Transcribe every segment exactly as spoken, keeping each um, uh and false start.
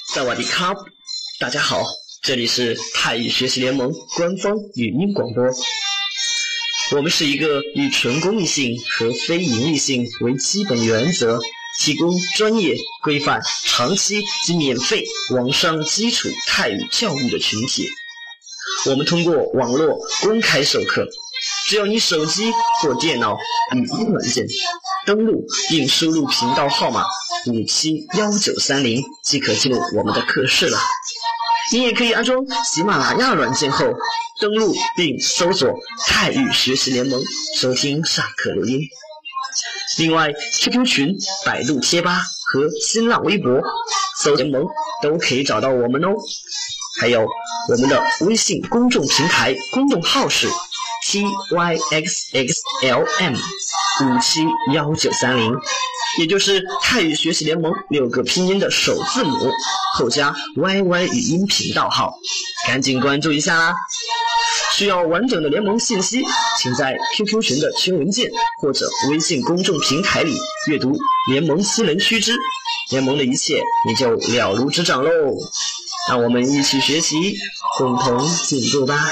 萨瓦迪卡，大家好，这里是泰语学习联盟官方语音广播。我们是一个以纯公益性和非盈利性为基本原则，提供专业、规范、长期及免费网上基础泰语教育的群体。我们通过网络公开授课，只要你手机或电脑语音软件登录并输入频道号码五七一九三零即可进入我们的课室了。你也可以安装喜马拉雅软件后登录并搜索泰语学习联盟收听上课录音。另外 Q Q 群、百度贴吧和新浪微博搜联盟都可以找到我们哦。还有我们的微信公众平台公众号是 T Y X X L M 五七一九三零，也就是泰语学习联盟六个拼音的首字母后加 Y Y 语音频道号，赶紧关注一下啦！需要完整的联盟信息，请在 Q Q 群的群文件或者微信公众平台里阅读联盟新人须知，联盟的一切你就了如指掌喽！让我们一起学习，共同进步吧。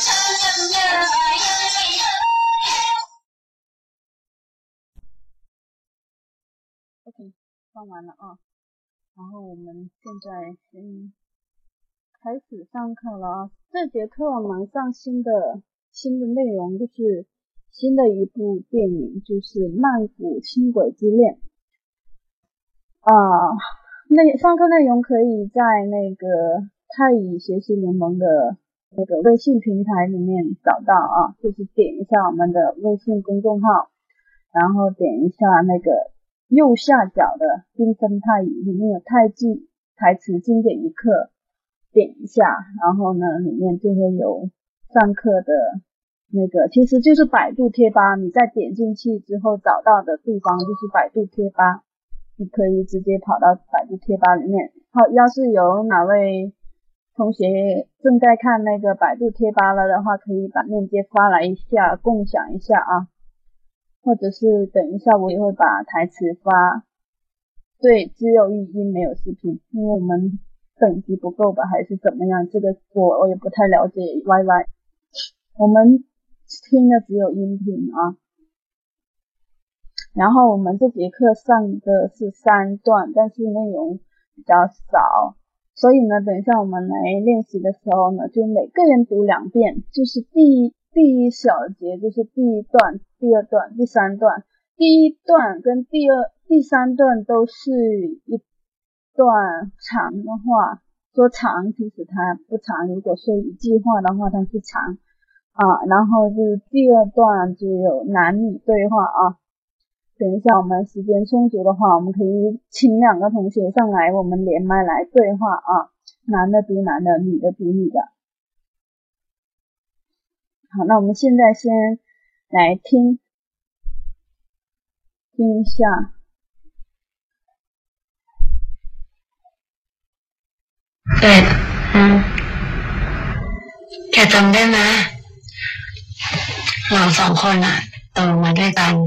OK， 放完了啊，然后我们现在先开始上课了啊。这节课我们上新的新的内容，就是新的一部电影，就是《曼谷轻轨之恋》啊。那上课内容可以在那个泰语学习联盟的那个微信平台里面找到啊，就是点一下我们的微信公众号，然后点一下那个右下角的缤纷泰语，里面有泰剧台词经典一课，点一下，然后呢里面就会有上课的那个，其实就是百度贴吧，你再点进去之后找到的地方就是百度贴吧，你可以直接跑到百度贴吧里面。好，要是有哪位同学正在看那个百度贴吧了的话，可以把链接发来一下，共享一下啊。或者是等一下我也会把台词发，对，只有语音没有视频，因为我们等级不够吧，还是怎么样，这个我我也不太了解 Y Y， 我们听的只有音频啊。然后我们这节课上的是三段，但是内容比较少，所以呢等一下我们来练习的时候呢，就每个人读两遍，就是第一第一小节就是第一段、第二段、第三段。第一段跟第二、第三段都是一段长的话，说长其实它不长，如果说一句话的话它是长啊。然后就是第二段就有男女对话啊。等一下我们时间充足的话，我们可以请两个同学上来，我们连麦来对话啊，男的读男的，女的读女的。好，那我们现在先来听听一下。 เป็ดอืมแกจำได้ไหมเราสองคนอะโตมาด้วยกัน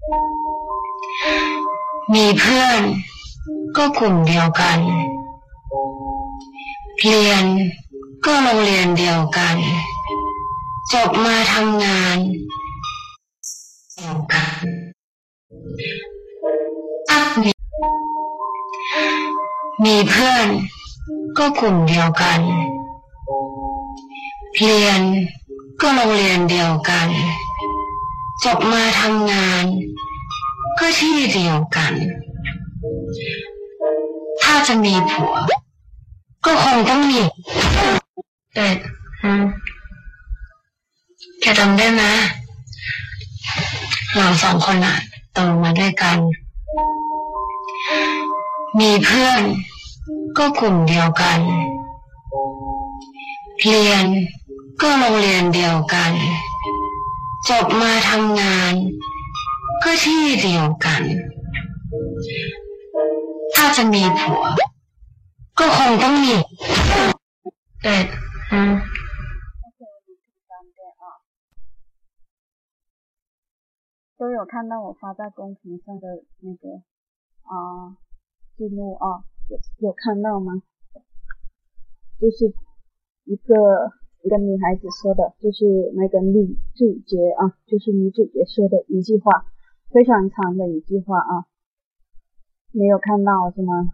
มีเพื่อนก็กลุ่มเดียวกันเรียนก็โรงเรียนเดียวกันจบมาทำงานเดียวกันอักมีมีเพื่อนก็กลุ่มเดียวกันเรียนก็โรงเรียนเดียวกันจบมาทำงานก็ที่เดียวกันถ้าจะมีผัวก็คงต้องมีเป็ดอืมแกจำได้ไหมเราสองคนอะโตมาด้วยกันมีเพื่อนก็กลุ่มเดียวกันเรียนก็โรงเรียนเดียวกันจบมาทำงานก็ที่เดียวกันถ้าจะมีผัวก็คงต้องมีเป็ดอืม都有看到我发在公屏上的那个啊字幕啊，有有看到吗？ 就是一个一个女孩子说的，就是那个女主角啊，就是女主角说的一句话，非常长的一句话啊，没有看到是吗？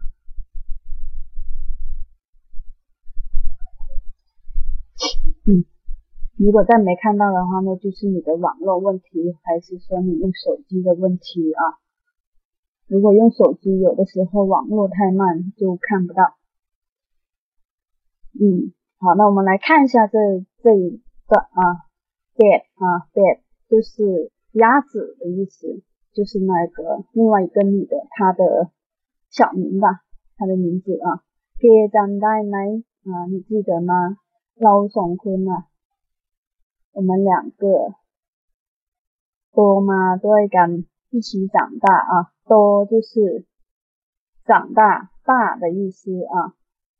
嗯，如果再没看到的话，那就是你的网络问题，还是说你用手机的问题啊？如果用手机，有的时候网络太慢就看不到。嗯，好，那我们来看一下这这一个啊 ，bed 啊 ，bed 就是鸭子的意思，就是那个另外一个女的她的小名吧，她的名字啊 ，แกจำได้ไหม啊，你记得吗？เราสองคน啊，我们两个โตมาด้วยกัน一起长大啊，โต就是长大大的意思啊。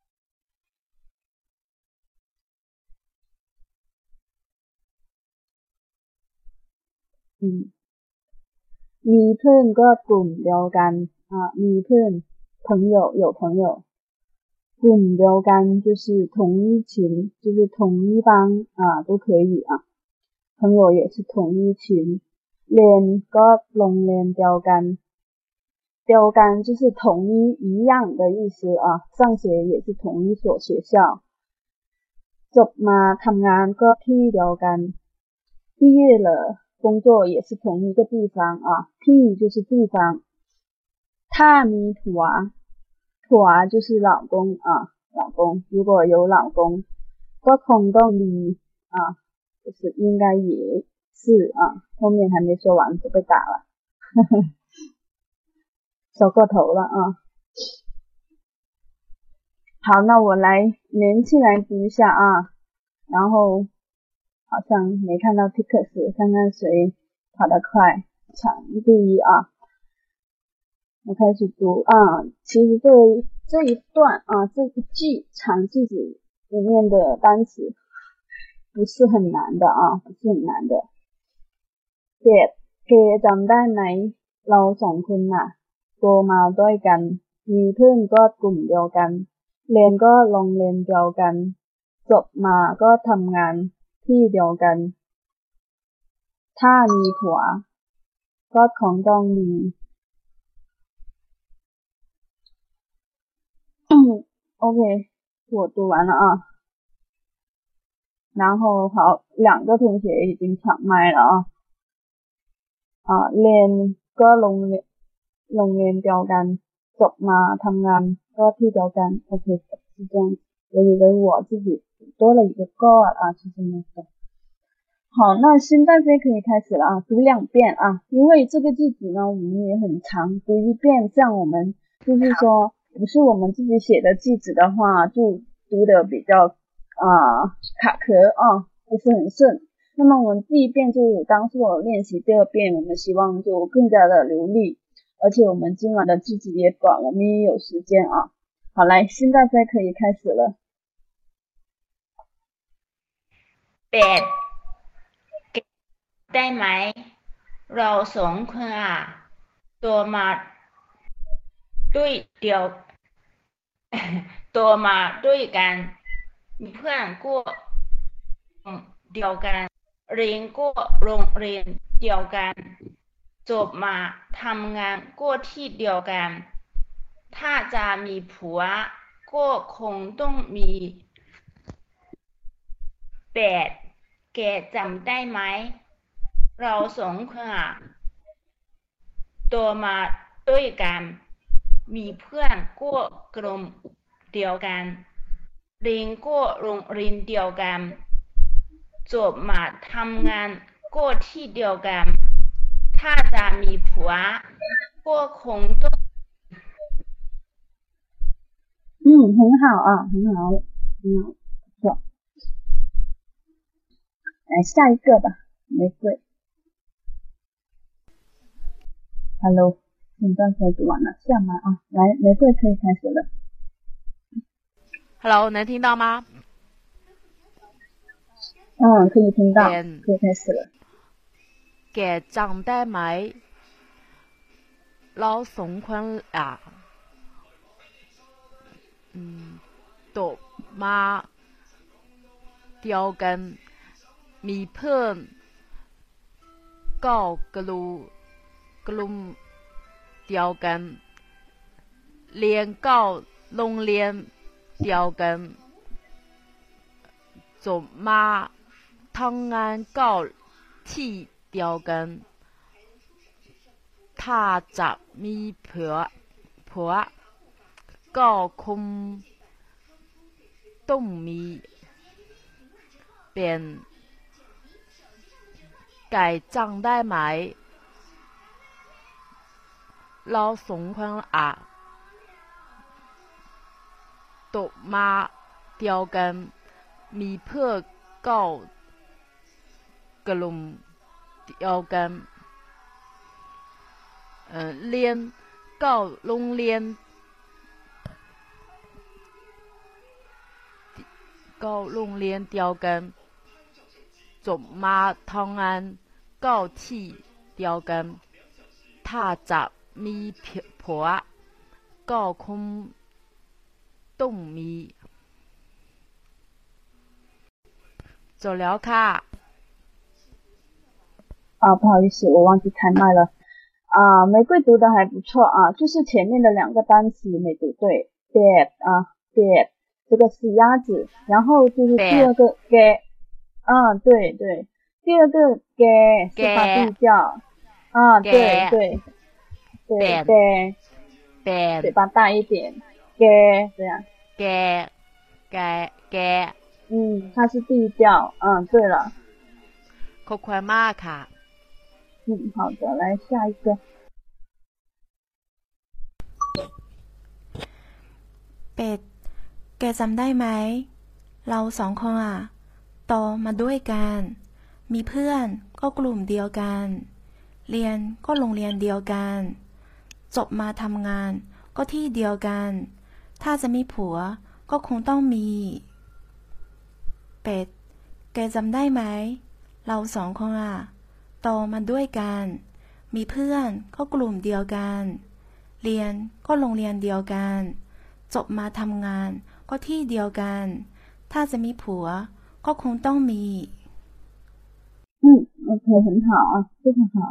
อืมมีเพื่อนก็กลุ่มเดียวกันอ่ามีเพื่อน朋友有朋友กลุ่มเดียวกัน就是同一群就是同一帮啊都可以啊朋友也是同一群เรียนก็โรงเรียนเดียวกันเดียวกัน就是同一一样的意思啊上学也是同一所学校จบมาทำงานก็ที่เดียวกัน毕业了工作也是同一个地方啊 T 就是地方ถ้ามีผัวผัว就是老公啊老公如果有老公ก็คงต้องมี啊就是应该也是啊后面还没说完就被打了说过头了啊好那我来连起来读一下啊然后好像没看到 tickets 看看谁跑得快抢第一啊我开始读啊其实这这一段啊这一句长句子里面的单词不是很难的啊不是很难的เกดเกจำได้ไหมเราสองคนน่ะโตมาด้วยกันมีเพื่อนก็กลุ่มเดียวกันเรียนก็โรงเรียนเดียวกันจบมาก็ทำงานที่เดียวกันถ้ามีผัวก็คงต้องมีOK 我读完了啊然后好两个同学已经抢麦了啊อ่าเรียนก็โรงเรียนโรงเรียนเดียวกันจบมาทำงานก็ที่เดียวกันโอเค是这样我以为我自己多了一个 God 啊其实没有好那现在可以开始了啊读两遍啊因为这个句子呢我们也很长读一遍这样我们就是说不是我们自己写的句子的话就读的比较啊卡壳啊不是很顺那么我们第一遍就当做练习第二遍我们希望就更加的流利而且我们今晚的句子也短我们也有时间啊好来现在可以开始了เป็ดได้ไหมเราสองคนอ่ะตัวมาด้วยเดียวตัวมาด้วยกันมีเพื่อนก็เดียวกันเรียนก็โรงเรียนเดียวกันจบมาทำงานก็ที่เดียวกันถ้าจะมีผัวก็คงต้องมีเป็ดแกจำได้ไหมเราสองคนอ่ะโตมาด้วยกันมีเพื่อนก็กลุ่มเดียวกันเรียนก็โรงเรียนเดียวกันจบมาทำงานก็ที่เดียวกันถ้าจะมีผัวก็คงต้อง嗯很好啊很好很好不错来下一个吧玫瑰 Hello 现在可以读完了下麦啊来玫瑰可以开始了 Hello 能听到吗嗯可以听到可以开始了แกจำได้ไหมเราสองคนอ่ะอืมโตมาเดียวกันมีเพื่อนก็กลุ่มกลุ่มเดียวกันเรียนก็โรงเรียนเดียวกันจบมาทำงานก็ที่เดียวกันถ้าจะมีผัวผัวก็คงต้องมีเป็นไก่จังได้ไหมเราสองคนอ่ะตกมาเดียวกันมีเพื่อนก็กลุ่มเดียวกันเอ่อเรียนก็โรงเรียนก็โรงเรียนเดียวกันจบมาทำงานก็ที่เดียวกันถ้าจะมีผัวก็คงต้องมีจบแล้วค่ะ啊，不好意思，我忘记开麦了。啊，玫瑰读的还不错啊，就是前面的两个单词没读对 ，bed 啊 ，bed 这个是鸭子，然后就是第二个 ge， 啊，对对，第二个 ge 是发地调，啊，对对对 ge， เป็น嘴巴大一点 ge 这样 ge ge ge 嗯，它是地调，嗯，对了， ขอบคุณมากค่ะ嗯，好的，来下一个。 เป็ดแกจำได้ไหมเราสองคนอ่ะโตมาด้วยกันมีเพื่อนก็กลุ่มเดียวกันเรียนก็โรงเรียนเดียวกันจบมาทำงานก็ที่เดียวกันถ้าจะมีผัวก็คงต้องมีเป็ดแกจำได้ไหมเราสองคนอ่ะโตมาด้วยกันมีเพื่อนก็กลุ่มเดียวกันเรียนก็โรงเรียนเดียวกันจบมาทำงานก็ที่เดียวกันถ้าจะมีผัวก็คงต้องมี嗯 OK 很好啊非常好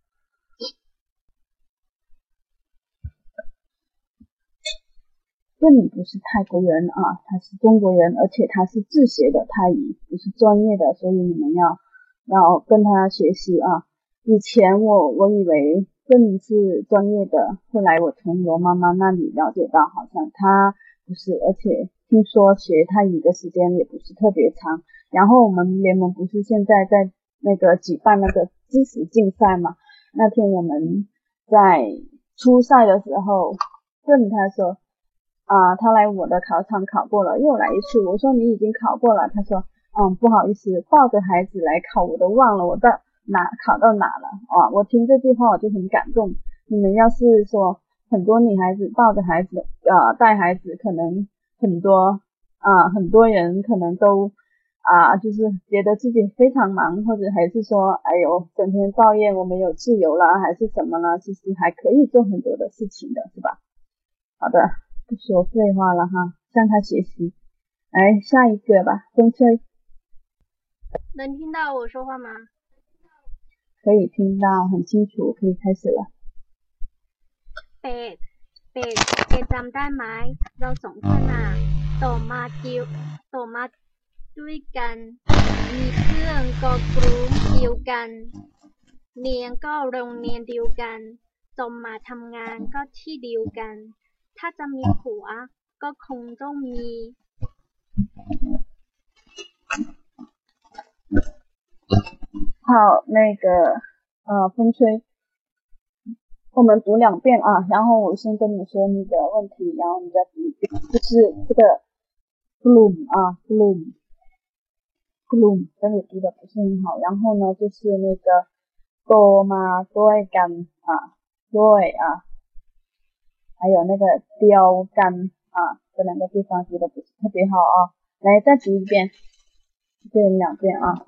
这里不是泰国人啊，他是中国人，而且他是自学的泰语，不是专业的，所以你们要要跟他学习啊。以前我我以为更是专业的，后来我从罗妈妈那里了解到，好像他不是，而且听说学泰语的时间也不是特别长。然后我们联盟不是现在在那个举办那个知识竞赛嘛？那天我们在初赛的时候，问他说。啊，他来我的考场考过了，又来一次。我说你已经考过了，他说，嗯，不好意思，抱着孩子来考，我都忘了我到哪考到哪了啊！我听这句话我就很感动。你们要是说很多女孩子抱着孩子，呃，带孩子，可能很多啊，很多人可能都啊，就是觉得自己非常忙，或者还是说，哎呦，整天抱怨我没有自由了，还是什么呢？其实还可以做很多的事情的，是吧？好的。不说废话了哈，向他学习。来下一个吧，风吹。 能听到我说话吗？ 可以听到，很清楚，可以开始了。 เป็ดเป็ดแกจำได้ไหมเราสองคนน่ะโตมาเดียวโตมาด้วยกันมีเพื่อนก็กลุ่มเดียวกันเรียนก็โรงเรียนเดียวกันจบมาทำงานก็ที่เดียวกันถ้าจะมีผัวก็คงต้องมี好，那个呃，风吹，我们读两遍啊，然后我先跟你说你的问题，然后你再读一遍，就是这个 gloom 啊 gloom gloom 这里读的不是很好，然后呢就是那个 go 嘛 ด้วยกัน啊ด้วย啊还有那个雕干啊，这两个地方读的不是特别好啊。来，再读一遍，一遍两遍啊。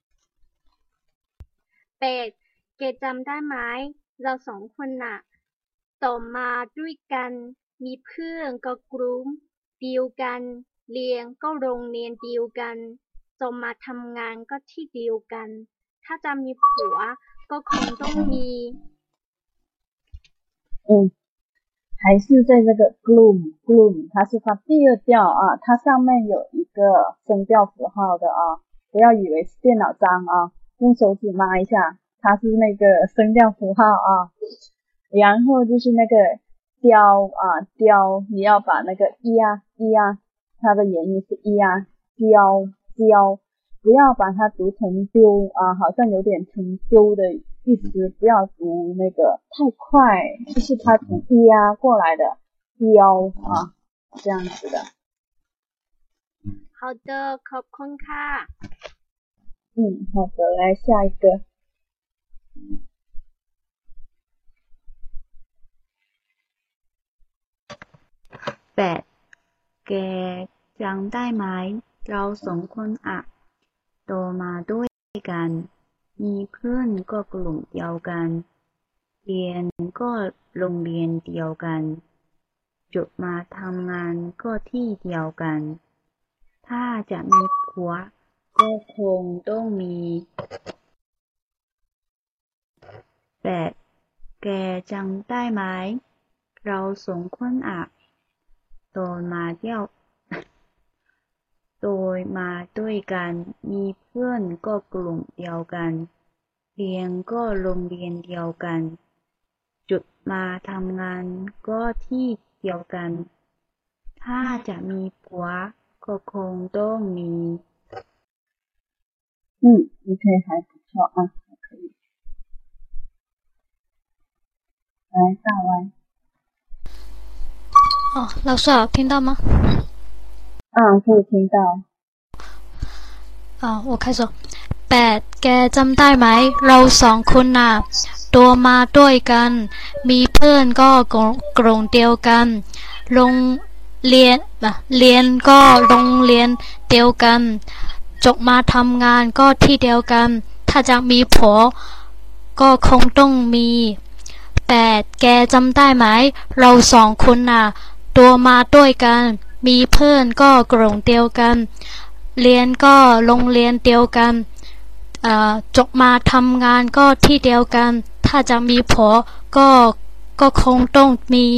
เป็ดแกจำได้ไหมเราสองคนน่ะโตมาด้วยกันมีเพื่อนก็กลุ่มเดียวกันเรียนก็โรงเรียนเดียวกันจบมาทำงานก็ที่เดียวกันถ้าจะมีผัวก็คงต้องมี嗯，还是在这个 gloom gloom， 它是它第二调啊，它上面有一个声调符号的啊，不要以为是电脑章啊，用手指抹一下，它是那个声调符号啊。然后就是那个雕啊雕，你要把那个咿呀咿呀，它的原音是咿呀雕雕，不要把它读成丢啊，好像有点成丢的意思，不要读那个太快，就是它从咿呀过来的雕啊，这样子的。 好的，ขอบคุณค่ะ嗯，好的，来下一个。 แปดแกจำได้ไหมเราสองคนอะโตมาด้วยกันมีเพื่อนก็กลุ่มเดียวกันเรียนก็โรงเรียนเดียวกันจบมาทำงานก็ที่เดียวกันถ้าจะมีผัวก็คงต้องมีแปดแกจำได้ไหมเราสองคนอะโตมาเที่ยวโตมาด้วยกันมีเพื่อนก็กลุ่มเดียวกันเรียนก็โรงเรียนเดียวกันจุดมาทำงานก็ที่เดียวกันถ้าจะมีผัวก็คงต้องมี嗯 OK 还不错啊，还可以。来大歪。 哦，老师好，听到吗？ 啊，可以听到。 啊，我开始。แปดแกจำได้ไหมเราสองคนน่ะตัวมาด้วยกันมีเพื่อนก็กลุ่มเดียวกันโรงเรียนเรียนก็โรงเรียนเดียวกันจบมาทำงานก็ที่เดียวกันถ้าจะมีผัวก็คงต้องมีแปดแกจำได้ไหมเราสองคนน่ะตัวมาด้วยกันมีเพื่อนก็กลุ่มเดียวกันเรียนก็โรงเรียนเดียวกันจบมาทำงานก็ที่เดียวกันถ้าจะมีผัวก็ก็คงต้องมี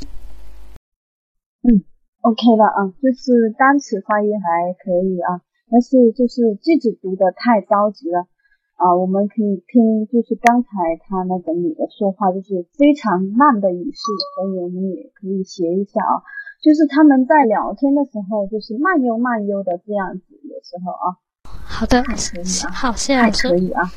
嗯 OK 了啊，就是单词发音还可以啊，但是就是句子读得太着急了啊，我们可以听就是刚才他那个女的说话就是非常慢的语速，所以我们也可以学一下啊，就是他们在聊天的时候就是慢悠慢悠的这样子，有时候啊。 好的，好，谢谢老师。 可以啊。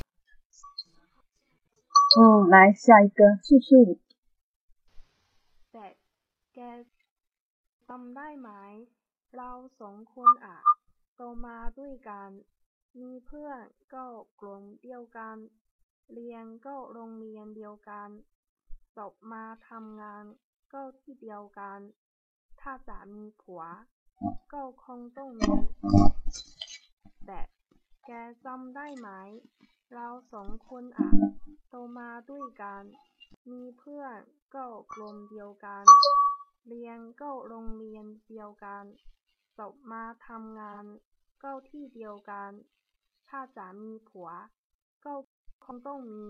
嗯，来下一个，素素。 แต่แกจำได้ไหมเราสองคนอ่ะโตมาด้วยกันมีเพื่อนก็กลุ่มเดียวกันเรียนก็โรงเรียนเดียวกันจบมาทำงานก็ที่เดียวกันถ้าจะมีผัวก็คงต้องมีแต่แกจำได้ไหมเราสองคนอ่ะโตมาด้วยกันมีเพื่อนก็กลุ่มเดียวกันเรียนก็โรงเรียนเดียวกันจบมาทำงานก็ที่เดียวกันถ้าจะมีผัวก็คงต้องมี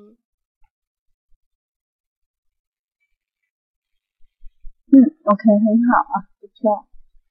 嗯 OK 很好啊，不错。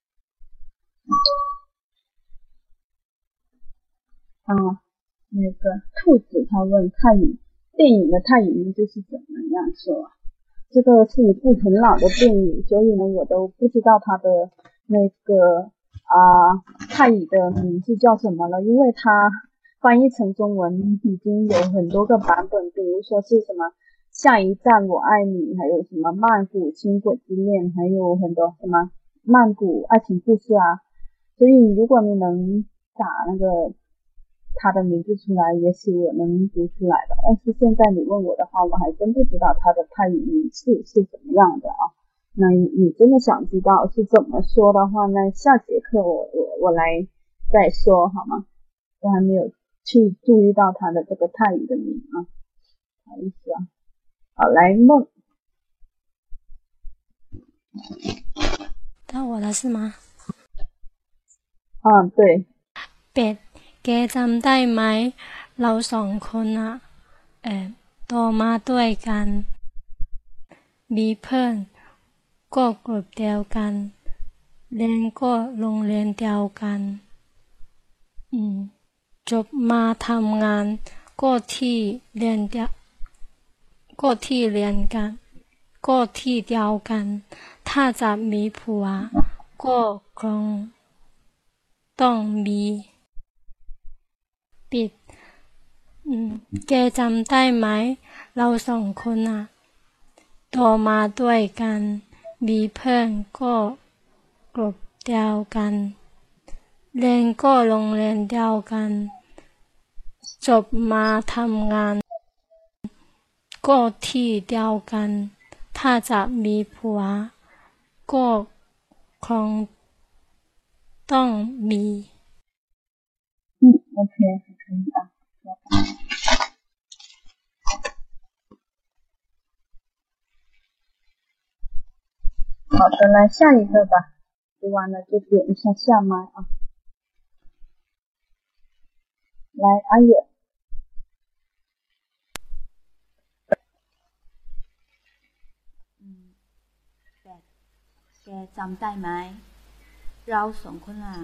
啊，那个兔子他问泰语电影的泰语名字是怎么样说啊？这个是一部很老的电影，所以呢我都不知道它的那个啊泰语的名字叫什么了，因为它翻译成中文已经有很多个版本，比如说是什么下一站我爱你，还有什么曼谷轻轨之恋，还有很多什么曼谷爱情故事啊，所以如果你能打那个他的名字出来，也许我能读出来的，但是现在你问我的话，我还真不知道他的泰语名字是怎么样的啊。那你真的想知道是怎么说的话，那下节课我我我来再说好吗？我还没有去注意到他的这个泰语的名啊，不好意思啊。好，来梦。 到我了是吗？ 啊，对。 เป็ดแกจำได้ไหมเราสองคนอะเอ่อโตมาด้วยกันมีเพื่อนก็กลุ่มเดียวกันเรียนก็โรงเรียนเดียวกันอืมจบมาทำงานก็ที่เรียนเดียวก็ที่เรียนกันก็ที่เดียวกันถ้าจะมีผัวก็คงต้องมีปิดอืมแกจำได้ไหมเราสองคนอะโตมาด้วยกันมีเพื่อนก็กลุ่มเดียวกันเรียนก็โรงเรียนเดียวกันจบมาทำงานก็ที่เดียวกันถ้าจะมีผัวก็คงต้องมี嗯 OK 可以啊好的，来下一个吧。读完了就点一下下麦啊。来，阿月。 แกจำได้ไหมเราสองคนอ่ะ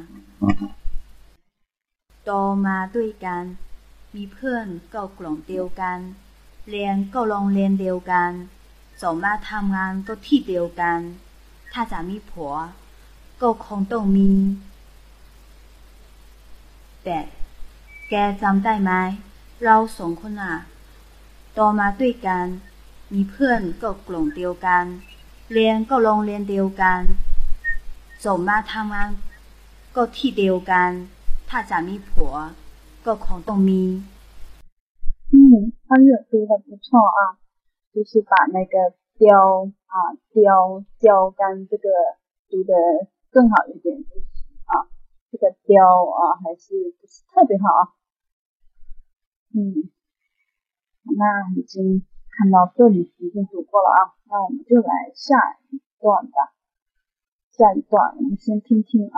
โตมาด้วยกันมีเพื่อนก็กลุ่มเดียวกันเรียนก็โรงเรียนเดียวกันจบมาทำงานก็ที่เดียวกันถ้าจะมีผัวก็คงต้องมีแต่แกจำได้ไหมเราสองคนอ่ะโตมาด้วยกันมีเพื่อนก็กลุ่มเดียวกันเรียนก็โรงเรียนเดียวกันจบมาทำงานก็ที่เดียวกันถ้าจะมีผัวก็คงต้องมี嗯，阿月读的不错啊，就是把那个雕啊雕雕杆这个读的更好一点，就是啊这个雕啊还是不是特别好啊。嗯，那已经看到这里已经读过了啊，那我们就来下一段吧。下一段我们先听听啊。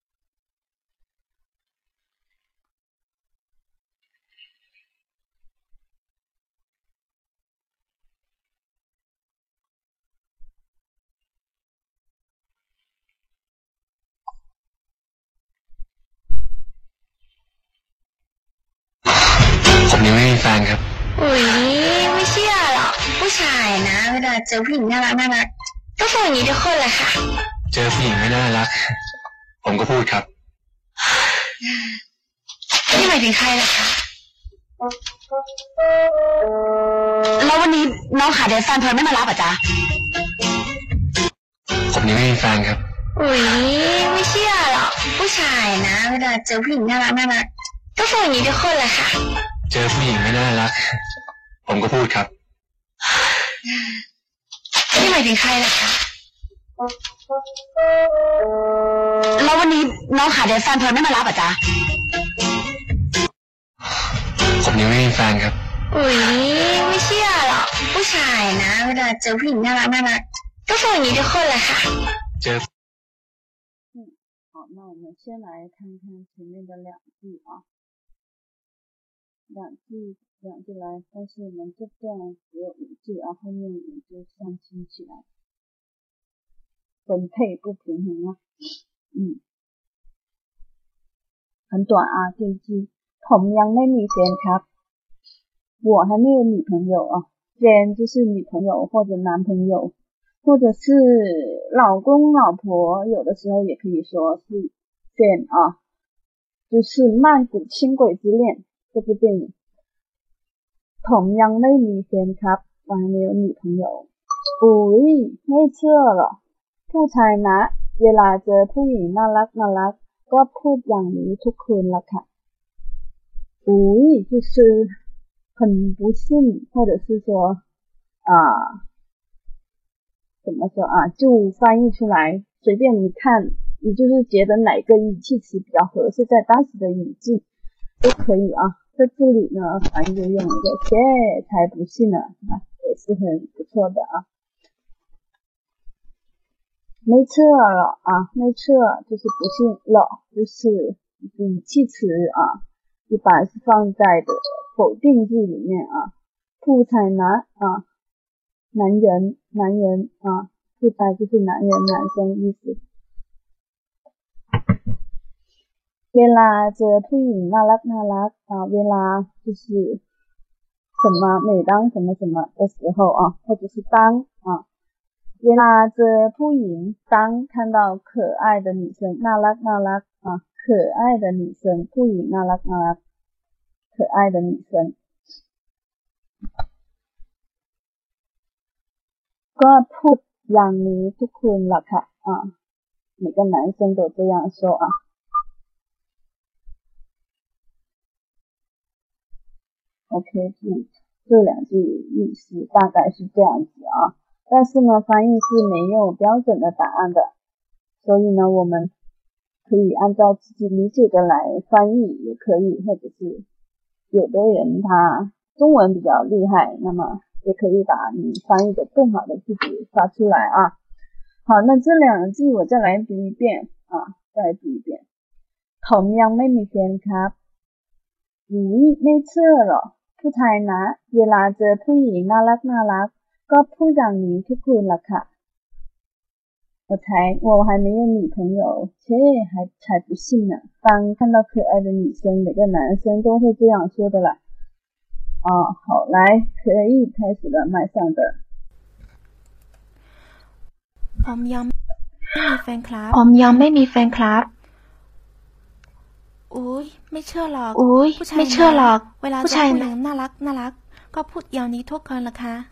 ผมยังไม่มีแฟนครับอุ๊ยไม่เชื่อหรอกผู้ชายนะเวลาเจอผู้หญิงน่ารักน่ารักก็พูดอย่างนี้ทุกคนแหละค่ะเจอผู้หญิงไม่น่ารักผมก็พูดครับนี่หมายถึงใครล่ะคะแล้ววันนี้น้องหาเดทแฟนเพลินไม่มารับอ่ะจ๊ะผมยังไม่มีแฟนครับอุ๊ยไม่เชื่อหรอกผู้ชายนะเวลาเจอผู้หญิงน่ารักน่ารักก็พูดอย่างนี้ทุกคนแหละค่ะเจอผู้หญิงไม่น่ารักผมก็พูดครับนี่หมายถึงใครล่ะคะแล้ววันนี้น้องหาเดทแฟนเพลินไม่มารับอ่ะจ๊ะผมยังไม่มีแฟนครับอุ๊ยไม่เชื่อหรอกผู้ชายนะเวลาเจอผู้หญิงน่ารักน่ารักก็พูดอย่างนี้ทุกคนแหละค่ะเจอ嗯，好，那我们先来看看前面的两句啊，两句两句来，但是我们这段只有五句啊，后面也就相亲起来，分配不平衡啊，嗯，很短啊，这一句ผมยังไม่มีแฟนครับ我还没有女朋友啊，แฟน就是女朋友或者男朋友。或者是老公老婆，有的时候也可以说是 fan 啊，就是曼谷轻轨之恋这部电影。ผมยังไม่มีแฟนครับ我还没有女朋友อุ๊ยไม่เชื่อหรอผู้ชายนะเวลาเจอผู้หญิงน่ารักน่ารักก็พูดอย่างนี้ทุกคืนละค่ะอุ๊ย就是很不幸或者是说啊怎么说啊就翻译出来随便你看你就是觉得哪个语气词比较合适在当时的语境都可以啊在这里呢反正就用一个切才不信呢也是很不错的啊没错了啊，没错就是不信了，就是语气词啊，一般是放在的否定句里面啊。ผู้ชายนะ啊，男人，男人啊，ผู้ชาย就是男人，男生意思。เวลาเจอผู้หญิงน่ารักน่ารัก啊，เวลา就是什么，每当什么什么的时候啊，或者是当啊。เวลาเจอผู้หญิง当看到可爱的女生น่ารักน่ารัก啊，可爱的女生，ผู้หญิงน่ารักน่ารัก，可爱的女生。ก็พูดอย่างนี้ทุกคนล่ะค่ะ啊，每个男生都这样说啊。OK， 这两句意思大概是这样子啊，但是呢，翻译是没有标准的答案的，所以呢，我们可以按照自己理解的来翻译，也可以，或者是有的人他中文比较厉害，那么也可以把你翻译的更好的句子发出来啊。好，那这两句我再来读一遍啊，再来读一遍。ผมยังไม่มีแฟนครับอุ๊ยไม่เชื่อหรอกผู้ชายนะเวลาเจอผู้หญิงน่ารักน่ารักก็พูดอย่างนี้ทุกคืนล่ะค่ะ我才我还没有女朋友，切还才不信呢。当看到可爱的女生，每个男生都会这样说的啦。啊，好，来，可以开始了，麦上的。 ผมยังไม่มีแฟนครับผมยังไม่มีแฟนครับอุ๊ยไม่เชื่อหรอกอุ๊ยไม่เชื่อหรอกเวลาเจอผู้หญิงน่ารักน่ารักก็พูดอย่างนี้ทุกคนล่ะคะ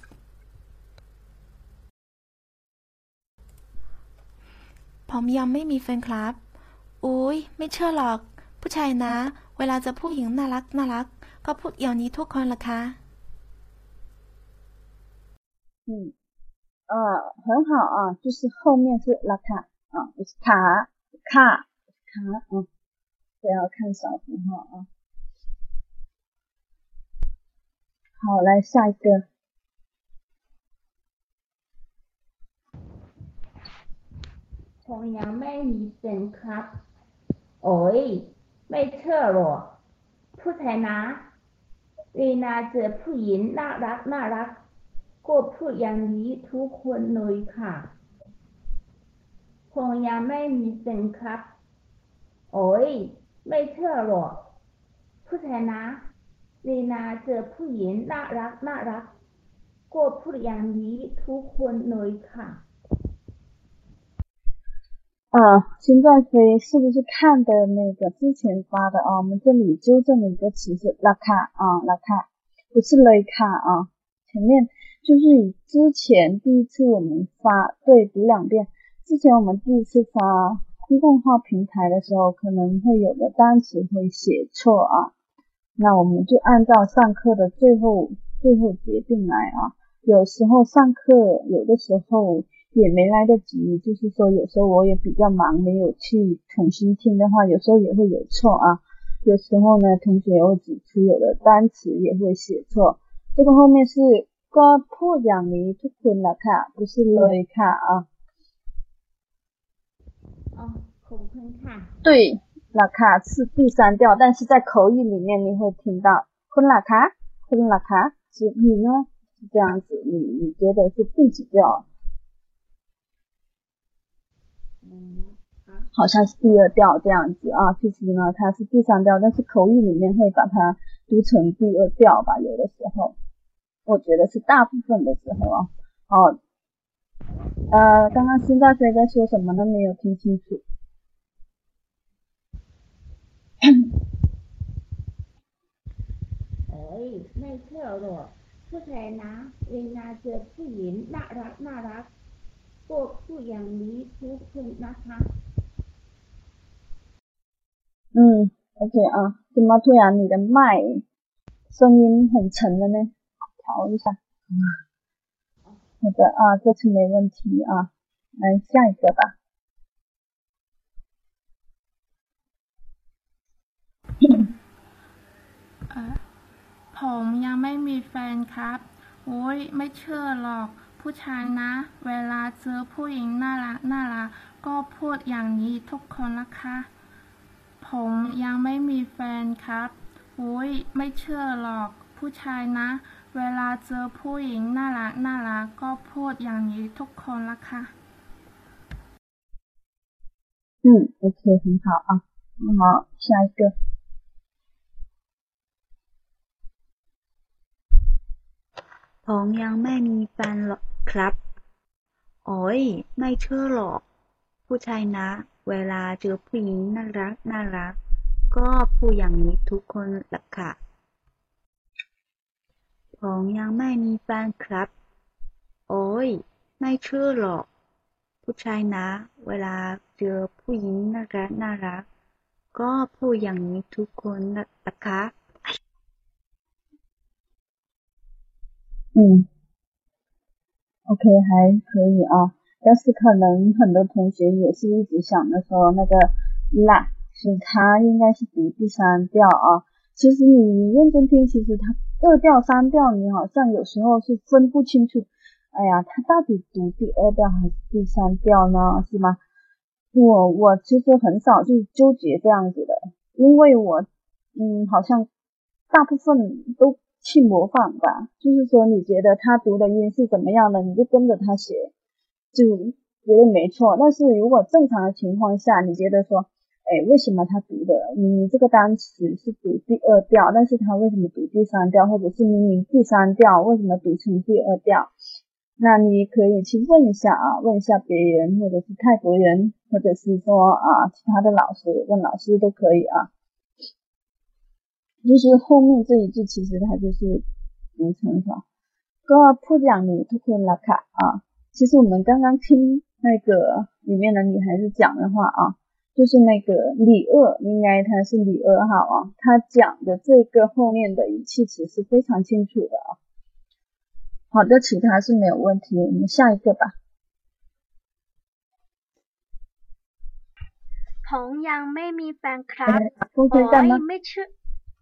ผมยังไม่มีแฟนครับอุ๊ยไม่เชื่อหรอกผู้ชายนะเวลาเจอผู้หญิงน่ารักน่ารักก็พูดอย่างนี้ทุกคนล่ะคะ嗯呃很好啊，就是后面是拉卡啊，不是卡卡卡嗯，不要看小符号啊。好，来下一个。 ผมยังไม่มีแฟนครับโอ้ยไม่เชื่อหรอกผู้ชายนะเวลาเจอผู้หญิงน่ารักน่ารักก็พูดอย่างนี้ทุกคนเลยค่ะผมยังไม่มีแฟนครับโอ้ยไม่เชื่อหรอกผู้ชายนะเวลาเจอผู้หญิงน่ารักน่ารักก็พูดอย่างนี้ทุกคนเลยค่ะ啊，现在飞是不是看的那个之前发的啊？我们这里纠正了一个词是拉卡啊，拉卡不是雷卡啊。前面就是以之前第一次我们发对读两遍，之前我们第一次发公众号平台的时候，可能会有的单词会写错啊，那我们就按照上课的最后最后决定来啊。有时候上课有的时候也没来得及，就是说有时候我也比较忙，没有去重新听的话，有时候也会有错啊。有时候呢，同学会指出有的单词也会写错。这个后面是ก็พูดอย่างนี้ทุกคนล่ะค่ะ不是เลยค่ะ啊。 哦，ขอบคุณค่ะ对，ล่ะค่ะ是第三调，但是在口语里面你会听到คุณล่ะคะคุณล่ะคะ是你呢是这样子，你你觉得是第几调？好像是第二调这样子啊，其实呢它是第三调，但是口语里面会把它读成第二调吧，有的时候，我觉得是大部分的时候啊。哦，呃，刚刚新大学在说什么呢？没有听清楚。 เอ้ยไม่เชื่อหรอกผู้ชายนะเวลาเจอผู้หญิงน่ารักน่ารักก็พูดอย่างนี้ทุกคนนะคะ嗯 ，OK 啊，怎么突然你的麦声音很沉了呢？调一下。好的啊，这次没问题啊，来下一个吧。 ผมยังไม่มีแฟนครับโอ้ยไม่เชื่อหรอกผู้ชายนะเวลาเจอผู้หญิงน่ารักน่ารักก็พูดอย่างนี้ทุกคนละคะผมยังไม่มีแฟนครับอุ้ยไม่เชื่อหรอกผู้ชายนะเวลาเจอผู้หญิงน่ารักน่ารักก็พูดอย่างนี้ทุกคนละคะ嗯 OK 很好啊好下一个ผมยังไม่มีแฟนหรอกครับโอ้ยไม่เชื่อหรอกผู้ชายนะเวลาเจอผู้หญิงน่ารักน่ารักก็พูดอย่างนี้ทุกคนละค่ะผมยังไม่มีแฟนครับโอ้ยไม่เชื่อหรอกผู้ชายนะเวลาเจอผู้หญิงน่ารักน่ารักก็พูดอย่างนี้ทุกคนละค่ะ嗯 OK 还可以啊但是可能很多同学也是一直想着说那个啦是它应该是读第三调啊其实你认真听其实它二调三调你好像有时候是分不清楚哎呀它到底读第二调还是第三调呢是吗我我其实很少去纠结这样子的因为我嗯好像大部分都去模仿吧就是说你觉得他读的音是怎么样的你就跟着他写就觉得没错但是如果正常的情况下你觉得说诶为什么他读的你这个单词是读第二调但是他为什么读第三调或者是明明第三调为什么读成第二调那你可以去问一下啊问一下别人或者是泰国人或者是说啊其他的老师问老师都可以啊就是后面这一句其实它就是读成啥ก็พูดอย่างนี้ทุกคนละค่ะ啊其实我们刚刚听那个里面的女孩子讲的话啊就是那个李二应该他是李二号啊他讲的这个后面的语气词是非常清楚的啊好的其他是没有问题我们下一个吧ผมยังไม่มีแฟนครับโอ้ยไม่เชื่อ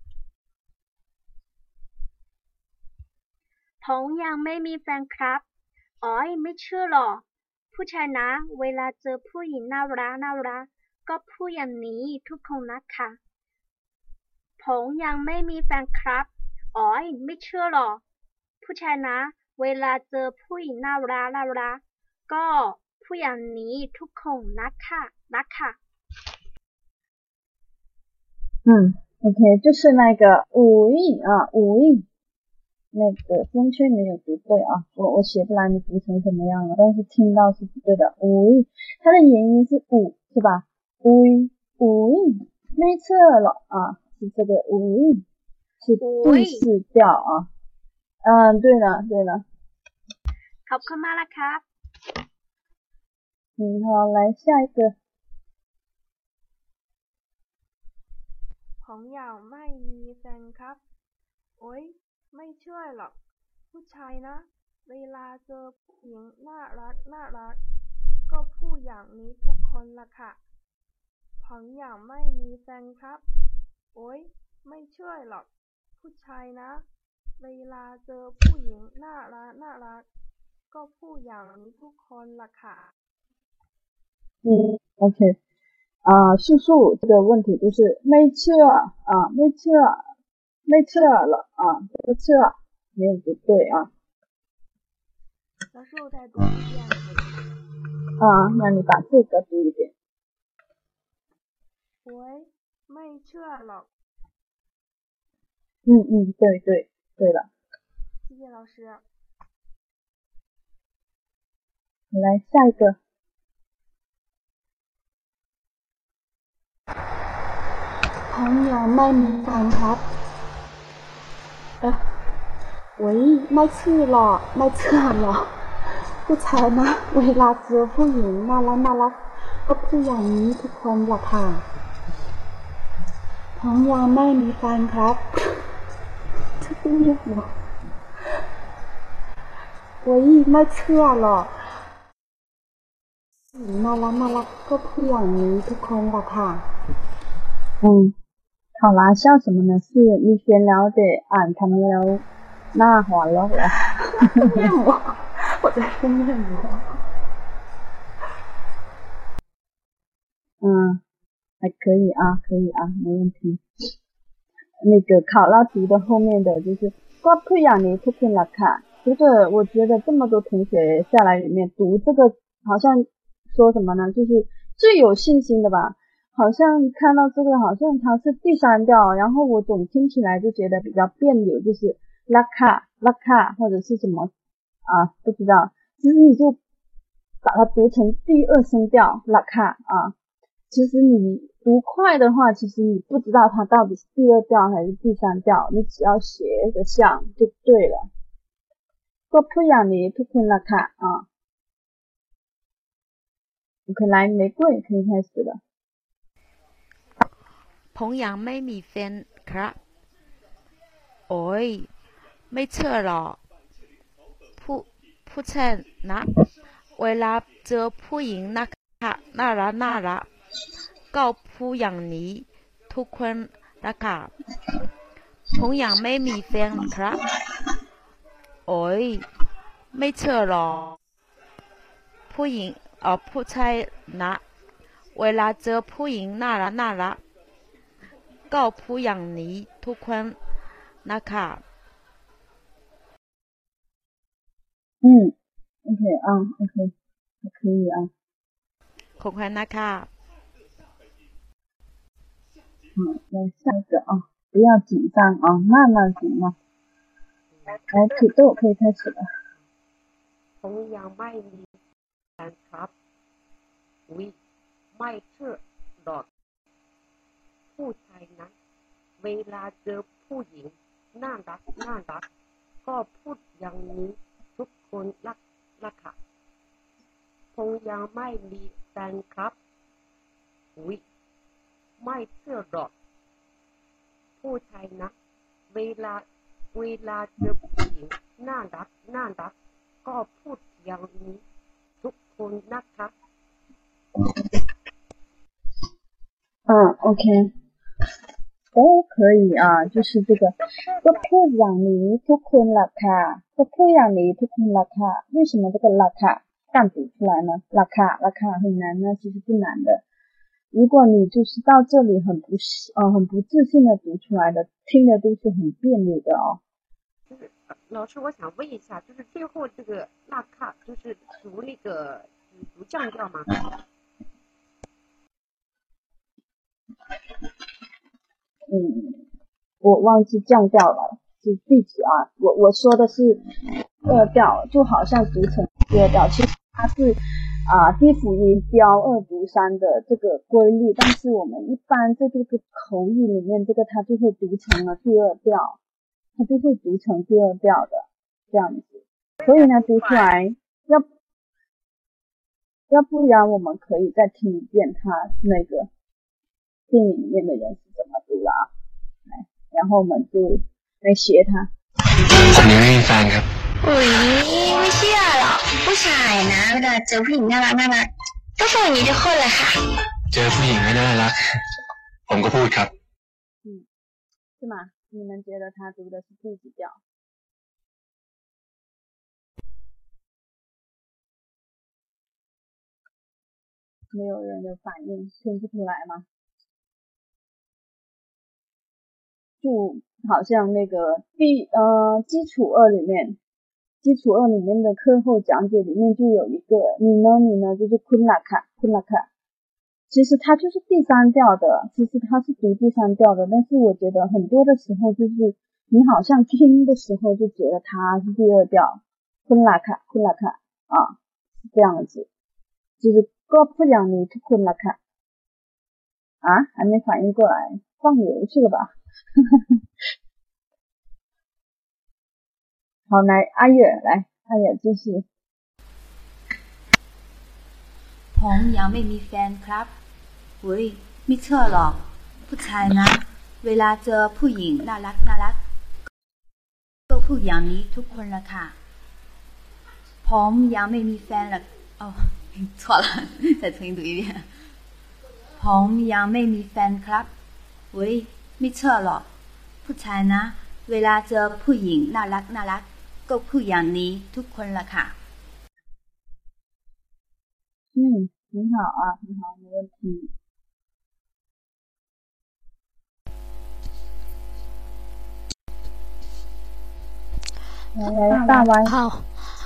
ผมยังไม่มีแฟนครับอ๋อยไม่เชื่อหรอกผู้ชายนะเวลาเจอผู้หญิงน่ารักน่ารักก็พูดอย่างนี้ทุกคนนะคะผมยังไม่มีแฟนครับอ๋อยไม่เชื่อหรอกผู้ชายนะเวลาเจอผู้หญิงน่ารักน่ารักก็พูดอย่างนี้ทุกคนนะคะนะคะ嗯 OK 就是那个五亿啊五亿那个风圈没有读对啊我我写不来你读成什么样了但是听到是不对的五亿它的元音是五是吧五亿五亿没错了啊是这个五亿是第四调啊嗯对了对了ขอบคุณมากละครับ嗯好来下一个ผมอยากไม่มีแฟนครับโอ๊ยไม่เชื่อหรอกผู้ชายนะเวลาเจอผู้หญิงน่ารักน่ารักก็พูดอย่างนี้ทุกคนละค่ะผมอยากไม่มีแฟนครับโอ๊ยไม่เชื่อหรอกผู้ชายนะเวลาเจอผู้หญิงน่ารักน่ารักก็พูดอย่างนี้ทุกคนละค่ะ嗯 OK啊素素这个问题就是没错啊没错没错了啊这个错没有不对啊老师我再读一遍啊那你把这个读一遍喂ไม่เชื่อหรอก嗯嗯对对对了谢谢老师来下一个ผมยังไม่มีแฟนครับเอ๊ะโอ๊ยไม่เชื่อหรอกไม่เชื่อหรอกผู้ชายนะเวลาเจอผู้หญิงน่ารักน่ารักก็พูดอย่างนี้ทุกคนล่ะค่ะผมยังไม่มีแฟนครับจะเป็นยังไงโอ๊ยไม่เชื่อหรอกผู้หญิงน่ารักน่ารักก็พูดอย่างนี้ทุกคนล่ะค่ะ嗯好啦笑什么呢是你先了解俺他们แล้วหน้าหอนแล้วเหรอ我我跑在封面里了。嗯，还可以啊，可以啊，没问题。那个考拉读的后面的就是瓜普雅尼图克拉卡，这个我觉得这么多同学下来里面读这个，好像说什么呢？就是最有信心的吧。好像看到这个，好像它是第三调，然后我总听起来就觉得比较别扭，就是拉卡拉卡或者是什么啊，不知道。其实你就把它读成第二声调拉卡啊。其实你读快的话，其实你不知道它到底是第二调还是第三调，你只要学得像就对了。ก็ผู้อย่างนี้ทุกคนละค่ะ啊 OK 来玫瑰可以开始了。 ผมยังไม่มีแฟนครับโอ้ยไม่เชื่อหรอกผู้ผู้ชายนะเวลาเจอผู้หญิงนะคะน่ารักน่ารักก็พูดอย่างนี้ทุกคนนะคะผมยังไม่มีแฟนครับโอ้ยไม่เชื่อหรอกผู้หญิงเอ่อผู้ชายนะเวลาเจอผู้หญิงน่ารักน่ารักก็พูดอย่างนี้ทุกคนนะคะ嗯 OK 啊 OK 还可以啊ขอบคุณนะคะ好，来下一个啊，不要紧张啊，慢慢行吗？来，土豆可以开始了。 ผมยังไม่มีแฟนครับอุ๊ยไม่เชื่อหรอกผู้ชายนั้นเวลาเจอผู้หญิงน่ารักน่ารักก็พูดอย่างนี้ทุกคนรักรักค่ะผมยังไม่มีแฟนครับอุ๊ยไม่เชื่อหรอกผู้ชายนะเวลาเวลาเจอผู้หญิงน่ารักน่ารักก็พูดอย่างนี้ทุกคนนะคะ嗯 OK 都可以啊，就是这个ก็พูดอย่างนี้ทุกคนล่ะค่ะก็พูดอย่างนี้ทุกคนล่ะค่ะ为什么这个ล่ะค่ะ淡读出来呢？ล่ะค่ะล่ะค่ะ很难呢，其实不难的。如果你就是到这里很不呃很不自信的读出来的，听的都是很别扭的哦。 就是老师，我想问一下，就是最后这个那卡，就是读那个读降调吗？ 嗯，我忘记降调了，是第几啊？我我说的是二调，就好像读成第二调，其实它是啊低辅音标二读三的这个规律，但是我们一般在这个口语里面，这个它就会读成了第二调，它就会读成第二调的这样子。所以呢，读出来要要不然我们可以再听一遍它那个电影里面的人是怎么读的啊？来，然后我们就来学它。 ผมยังไม่มีแฟนครับอุ๊ยไม่เชื่อหรอกผู้ชายนะเวลาเจอผู้หญิงน่ารักน่ารักก็พูดอย่างนี้ทุกคนแหละค่ะเจอผู้หญิงไม่น่ารักผมก็พูดครับ嗯是吗？你们觉得他读的是第几调？没有人有反应，听不出来吗？就好像那个第呃基础二里面，基础二里面的课后讲解里面就有一个你呢你呢就是昆拉卡昆拉卡，其实它就是第三调的，其实它是读第三调的，但是我觉得很多的时候就是你好像听的时候就觉得它是第二调，昆拉卡昆拉卡啊，是这样子，就是ก็พูดอย่างนี้ทุกคนล่ะค่ะ啊还没反应过来，放牛去了吧好，来阿月，来阿月继续。 ผมยังไม่มีแฟนครับเฮ้ยไม่เชื่อหรอกผู้ชายนะเวลาเจอผู้หญิงน่ารักน่ารักก็พูดอย่างนี้ทุกคนละค่ะผมยังไม่มีแฟนหรอกอ๋อ错了再重新读一遍ผมยังไม่มีแฟนครับเฮ้ยไม่เชื่อหรอกผู้ชายนะเวลาเจอผู้หญิงน่ารักน่ารักก็พูดอย่างนี้ทุกคนละค่ะ嗯，很好啊，很好，没问题。来来，大 Y 好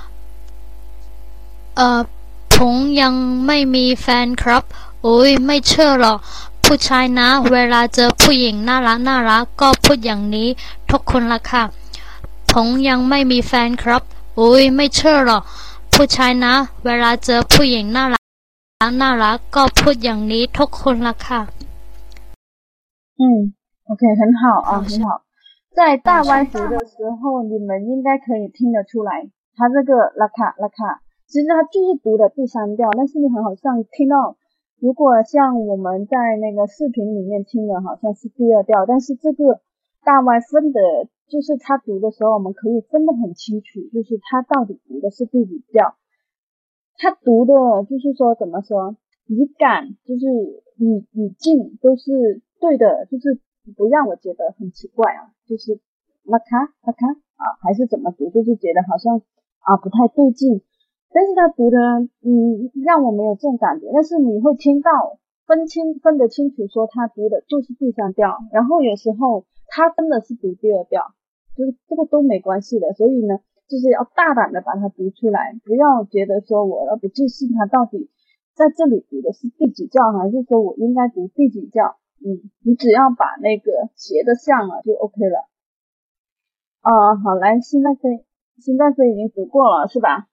เอ่อผมยังไม่มีแฟนครับโอ้ยไม่เชื่อหรอกผู้ชายนะเวลาเจอผู้หญิงน่ารักน่ารักก็พูดอย่างนี้ทุกคนละค่ะผมยังไม่มีแฟนครับโอ้ยไม่เชื่อหรอกผู้ชายนะเวลาเจอผู้หญิงน่ารักน่ารักก็พูดอย่างนี้ทุกคนละค่ะ嗯 OK 很好啊很好在大 Y 读的时候你们应该可以听得出来他这个拉卡拉卡其实他就是读的第三调但是你很好像听到如果像我们在那个视频里面听的好像是第二调但是这个大 Y 分的就是他读的时候我们可以分得很清楚就是他到底读的是第几调他读的就是说怎么说语感就是语语境都是对的就是不让我觉得很奇怪啊就是拉卡拉卡啊还是怎么读就是觉得好像啊不太对劲但是他读的嗯让我没有这种感觉但是你会听到分清分得清楚说他读的就是第三调然后有时候他真的是读第二调就是这个都没关系的所以呢就是要大胆的把它读出来不要觉得说我要不记事他到底在这里读的是第几调还是说我应该读第几调嗯你只要把那个写得像了就 OK 了啊好来现在飞现在飞已经读过了是吧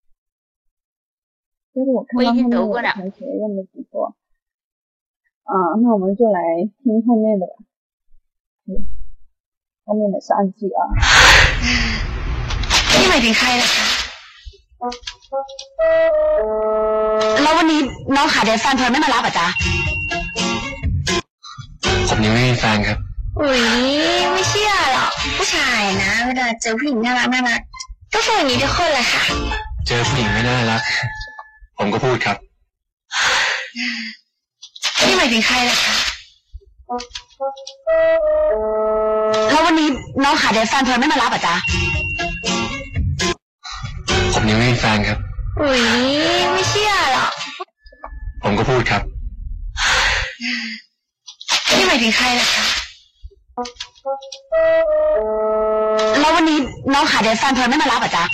但是我看到后面我的同学又没读过啊那我们就来听后面的吧嗯后面的三句啊นี่หมายถึงใครล่ะคะแล้ววันนี้น้องขาเดฟแฟนเธอไม่มารับอ่ะจ๊ะผมยังไม่มีแฟนครับอุ้ยไม่เชื่อหรอกผู้ชายนะเวลาเจอผู้หญิงน่ารักน่ารักก็พูดอย่างนี้ทุกคนแหละค่ะเจอผู้หญิงไม่น่ารักผมก็พูดครับนี่หมายถึงใครล่ะคะแล้ววันนี้น้องขาเดฟแฟนเธอไม่มารับอ่ะจ๊ะผมยังไม่มีแฟนครับอุ้ยไม่เชื่อหรอกผมก็พูดครับนี่หมายถึงใครล่ะคะแล้ววันนี้น้องขาเดฟแฟนเธอไม่มารับอ่ะจ๊ะ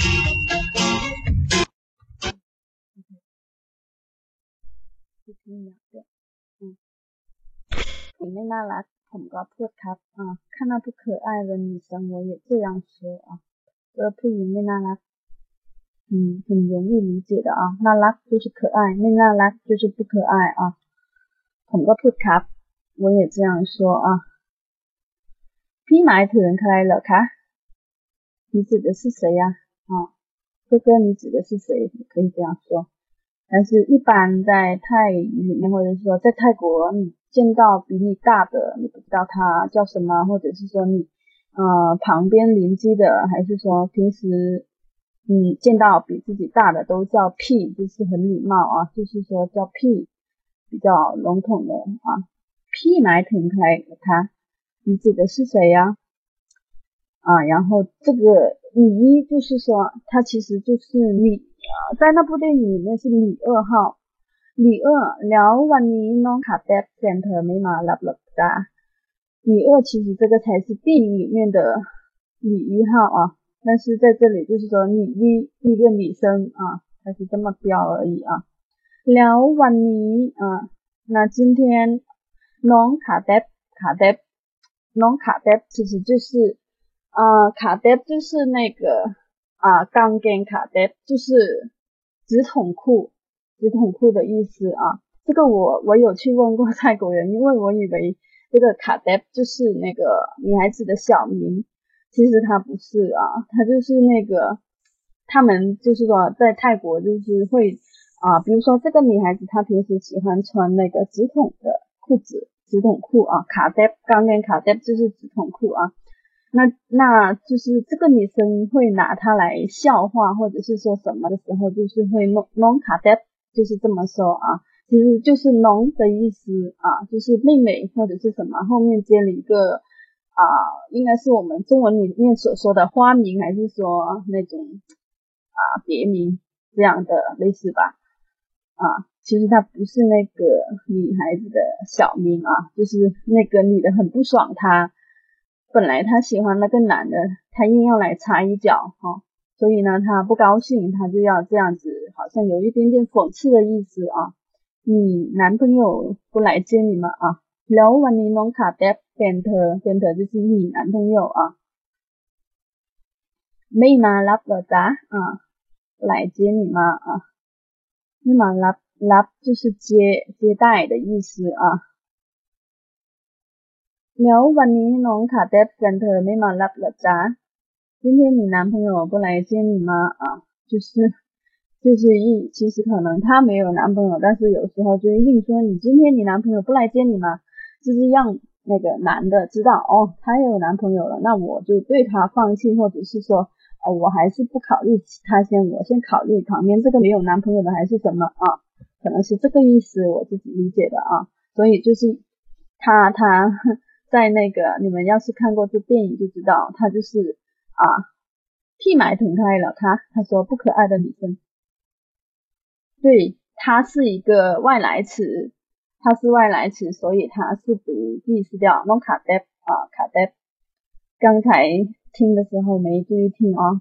你ไม่น่ารักผมก็พูดครับ啊看到不可爱的女生我也这样说啊这ผู้หญิงไม่น่ารัก嗯很容易理解的啊น่ารัก就是可爱ไม่น่ารัก就是不可爱啊ผมก็พูดครับ我也这样说啊พี่หมายถึงใครเหรอคะ你指的是谁呀啊哥哥你指的是谁也可以这样说但是一般在泰语里面或者是说在泰国你见到比你大的你不知道他叫什么或者是说你呃旁边邻居的还是说平时嗯见到比自己大的都叫屁就是很礼貌啊就是说叫屁比较笼统的啊屁หมายถึงใครคะ你指的是谁呀啊然后这个你就是说他其实就是你在那部电影里面是李二号李二แล้ววันนี้น้องขาแป๊บแฟนเธอไม่มารับหรอกจ้า李二其实这个才是电影里面的李一号啊但是在这里就是说李一一个女生啊她是这么标而已啊แล้ววันนี้啊那今天น้องขาแป๊บขาแป๊บน้องขาแป๊บ其实就是啊ขาแป๊บ就是那个啊钢筋卡带就是直筒裤直筒裤的意思啊这个我我有去问过泰国人因为我以为这个卡带就是那个女孩子的小名其实它不是啊它就是那个他们就是说在泰国就是会啊比如说这个女孩子她平时喜欢穿那个直筒的裤子直筒裤啊卡带钢筋卡带就是直筒裤啊那那就是这个女生会拿它来笑话或者是说什么的时候就是会弄弄卡带就是这么说啊其实就是弄的意思啊就是妹妹或者是什么后面接了一个啊应该是我们中文里面所说的花名还是说那种啊别名这样的类似吧啊，其实他不是那个女孩子的小名啊，就是那个女的很不爽他，本来他喜欢那个男的，他硬要来插一脚哈、啊，所以呢他不高兴，他就要这样子，好像有一点点讽刺的意思啊。你男朋友不来接你吗啊？แล้ววันนี้น้องขาแดบแฟนเธอแฟนเธอ就是你男朋友啊。ไม่มารับเหรอจ๊ะ啊，来接你吗啊？ไม่มารับรับ就是接接待的意思啊。แล้ววันนี้น้องขาแดบแฟนเธอไม่มารับเหรอจ๊ะ今天你男朋友不来接你吗啊？就是就是一其实可能他没有男朋友，但是有时候就硬说你今天你男朋友不来接你吗？就是让那个男的知道哦，他有男朋友了，那我就对他放弃，或者是说哦，我还是不考虑他先，我先考虑旁边这个没有男朋友的还是什么啊？可能是这个意思，我自己理解的啊。所以就是他他在那个你们要是看过这电影就知道，他就是啊屁埋腾开了他，他说不可爱的女生。对，它是一个外来词，它是外来词，所以它是读第四调 non 卡 dep 啊卡 dep。刚才听的时候没注意听哦。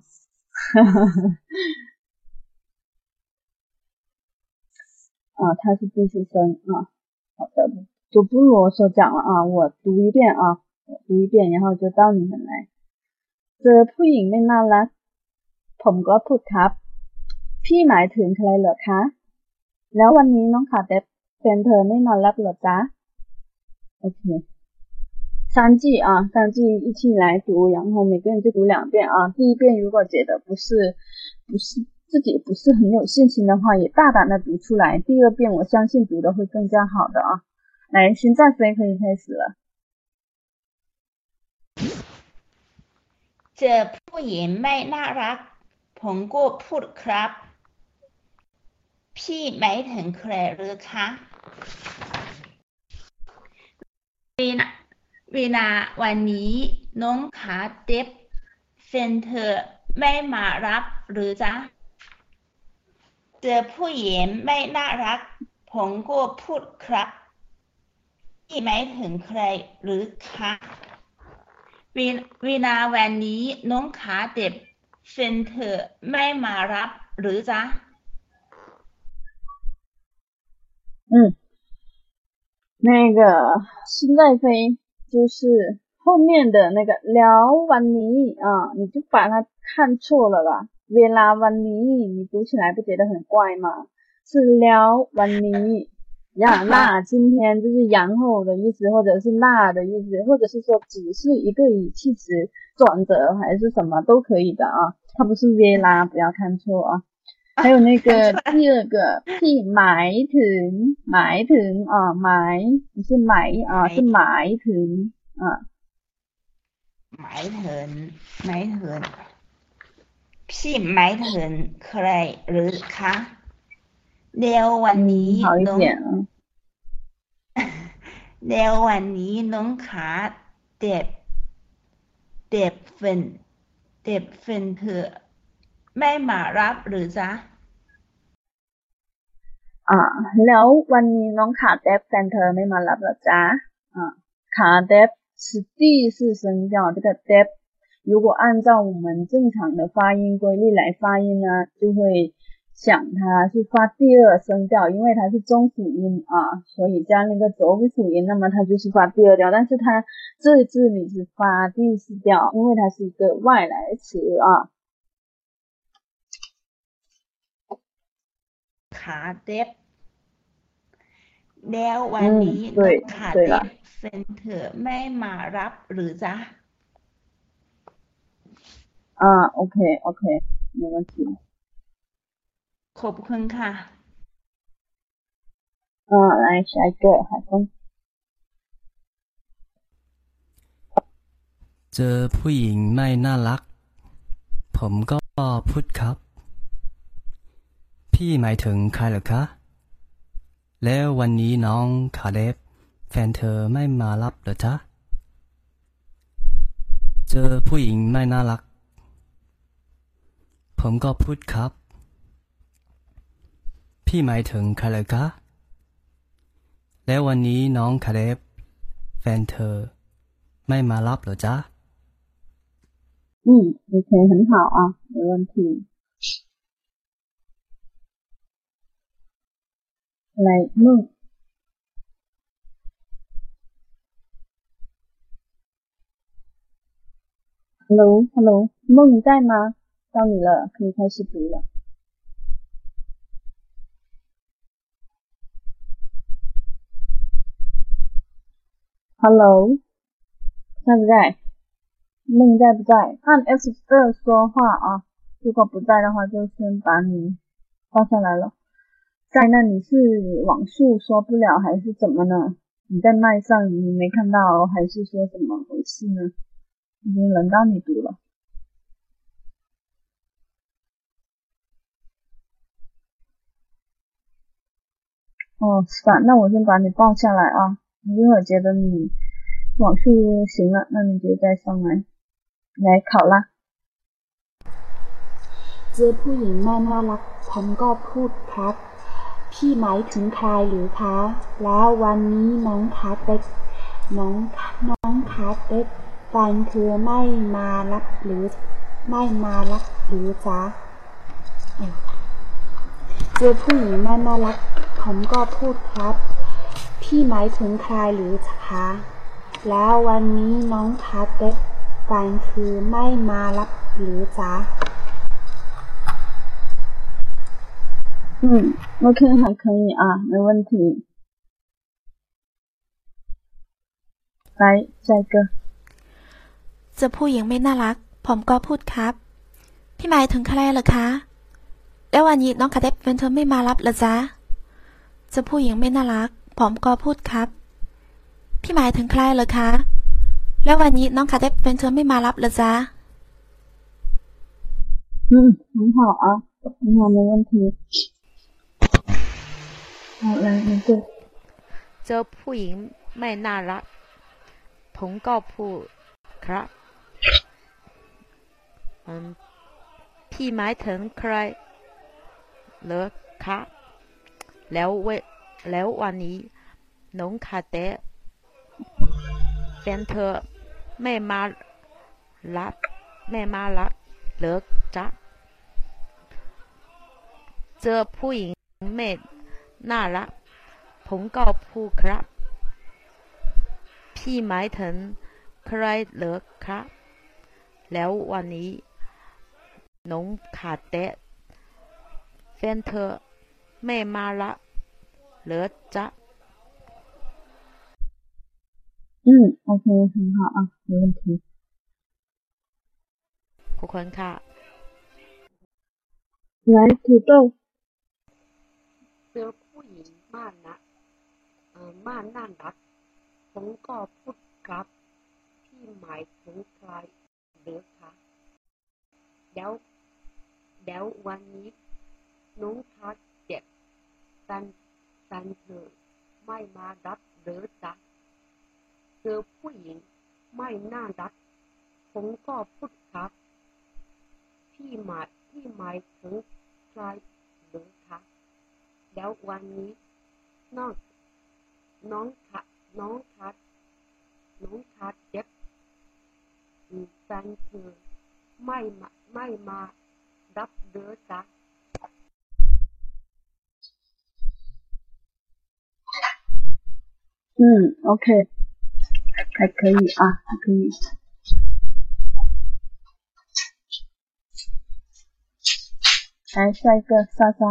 啊，它是第四声啊。好的，就不啰嗦讲了啊，我读一遍啊，我读一遍，然后就到你们来。เจอผู้หญิงไม่น่ารักผมก็พูดครับพี่หมายถึงใครเหรอคะแล้ววันนี้น้องขาแดบแฟนเธอไม่มารับเหรอจ๊ะ OK 三句啊三句一起来读，然后每个人就读两遍啊。第一遍如果觉得不是不是自己不是很有信心的话，也大胆的读出来，第二遍我相信读的会更加好的啊。来，现在谁可以开始了？ เจอผู้หญิงไม่น่ารักผมก็พูดครับพี่หมายถึงใครหรือคะวีนาวีนาวันนี้น้องขาเด็บแฟนเธอไม่มารับหรือจ๊ะเจอผู้หญิงไม่น่ารักผมก็พูดครับพี่หมายถึงใครหรือคะวีนาวันนี้น้องขาเด็บแฟนเธอไม่มารับหรือจ๊ะ嗯，那个现在飞就是后面的那个แล้ววันนี้啊，你就把它看错了啦。เวลาวันนี้你读起来不觉得很怪吗？是แล้ววันนี้呀，那今天就是然后的意思，或者是那的意思，或者是说只是一个语气词转折还是什么都可以的啊，它不是เวลา，不要看错啊。还有那个第二个ที่หมายถึงหมายถึง啊หมาย不是หมาย啊是หมายถึง啊หมายถึงหมายถึงพี่หมายถึงใครหรือคะแล้ววันนี้น้องแล้ววันนี้น้องขาเด็บเด็บเฟนเด็บเฟนเธอไม่มารับหรือจ๊ะอ่าแล้ววันนี้น้องขาเด็บแฟนเธอไม่มารับเหรอจ๊ะอ่าขาเด็บ是第四声调，这个 dep 如果按照我们正常的发音规律来发音呢，就会想它是发第二声调，因为它是中辅音啊，所以加那个浊辅音，那么它就是发第二调，但是它这这里是发第四调，因为它是一个外来词啊。 ขาเด็บแล้ววันนี้น้องขาเด็บแฟนเธอไม่มารับหรือจ๊ะอ่าโอเคโอเค没问题ขอบคุณค่ะอ่า来下一个海峰เจอผู้หญิงไม่น่ารักผมก็พูดครับพี่หมายถึงใครเหรอคะแล้ววันนี้น้องขาเด็บแฟนเธอไม่มารับเหรอจ๊ะเจอผู้หญิงไม่น่ารักผมก็พูดครับพี่พี่หมายถึงใครเลยคะแล้ววันนี้น้องคาเดฟแฟนเธอไม่มารับเหรอจ๊ะ嗯 OK 很好啊没问题来梦Hello Hello 梦在吗到你了可以开始读了Hello 在不在梦在不在按 F 二说话啊如果不在的话就先把你放下来了在那你是网速说不了还是怎么呢你在麦上你没看到还是说怎么回事呢已经轮到你读了哦是吧那我先把你报下来啊你一会儿觉得你网速行了那你就再上来来考啦เจอผู้หญิงแม่น่ารักผมก็พูดครับพี่หมายถึงใครหรือคะแล้ววันนี้น้องคาเต็กน้องน้องคาเต็กแฟนคือไม่มารับหรือไม่มารับหรือจ๊ะเจอผู้หญิงแม่น่ารักผมก็พูดครับพี่หมายถึงใครหรือคะแล้ววันนี้น้องคาเต็กแฟนคือไม่มารับหรือจ๊ะ嗯 OK 还可以啊没问题来下一个เจอผู้หญิงไม่น่ารักผมก็พูดครับพี่หมายถึงใครเหรอคะแล้ววันนี้น้องคาเต็กแฟนเธอไม่มารับเหรอจ๊ะเจอผู้หญิงไม่น่ารักผมก็พูดครับพี่หมายถึงใครเหรอคะแล้ววันนี้น้องคาเต็กแฟนเธอไม่มารับเหรอจ๊ะ嗯很好啊很好没问题好来你对เจอผู้หญิงไม่น่ารักผมก็พูดครับพี่หมายถึงใครเหรอคะแล้วเวแล้ววันนี้น้องคาเต้แฟนเธอไม่มารับไม่มารับเหรอจ๊ะเจอผู้หญิงไม่น่ารักผมก็พูดครับพี่หมายถึงใครเหรอครับแล้ววันนี้น้องคาเต้แฟนเธอไม่มารับเหรอจ๊ะ嗯 OK 很好啊没问题ขอบคุณค่ะ来土豆เจอผู้หญิงม่านนะเออม่านน่ารักผมก็พูดครับพี่หมายถึงใครหรือคะแล้วแล้ววันนี้น้องคาเจ็บตันตันเธอไม่มารับหรือจ๊ะเจอผู้หญิงไม่น่ารักผมก็พูดครับพี่หมายพี่หมายถึงใครหรือคะแล้ววันนี้น้องน้องคะน้องคะน้องคะเจ็บตันเธอไม่มาไม่มารับหรือจ๊ะ嗯 OK 还可以啊还可以来下一个莎莎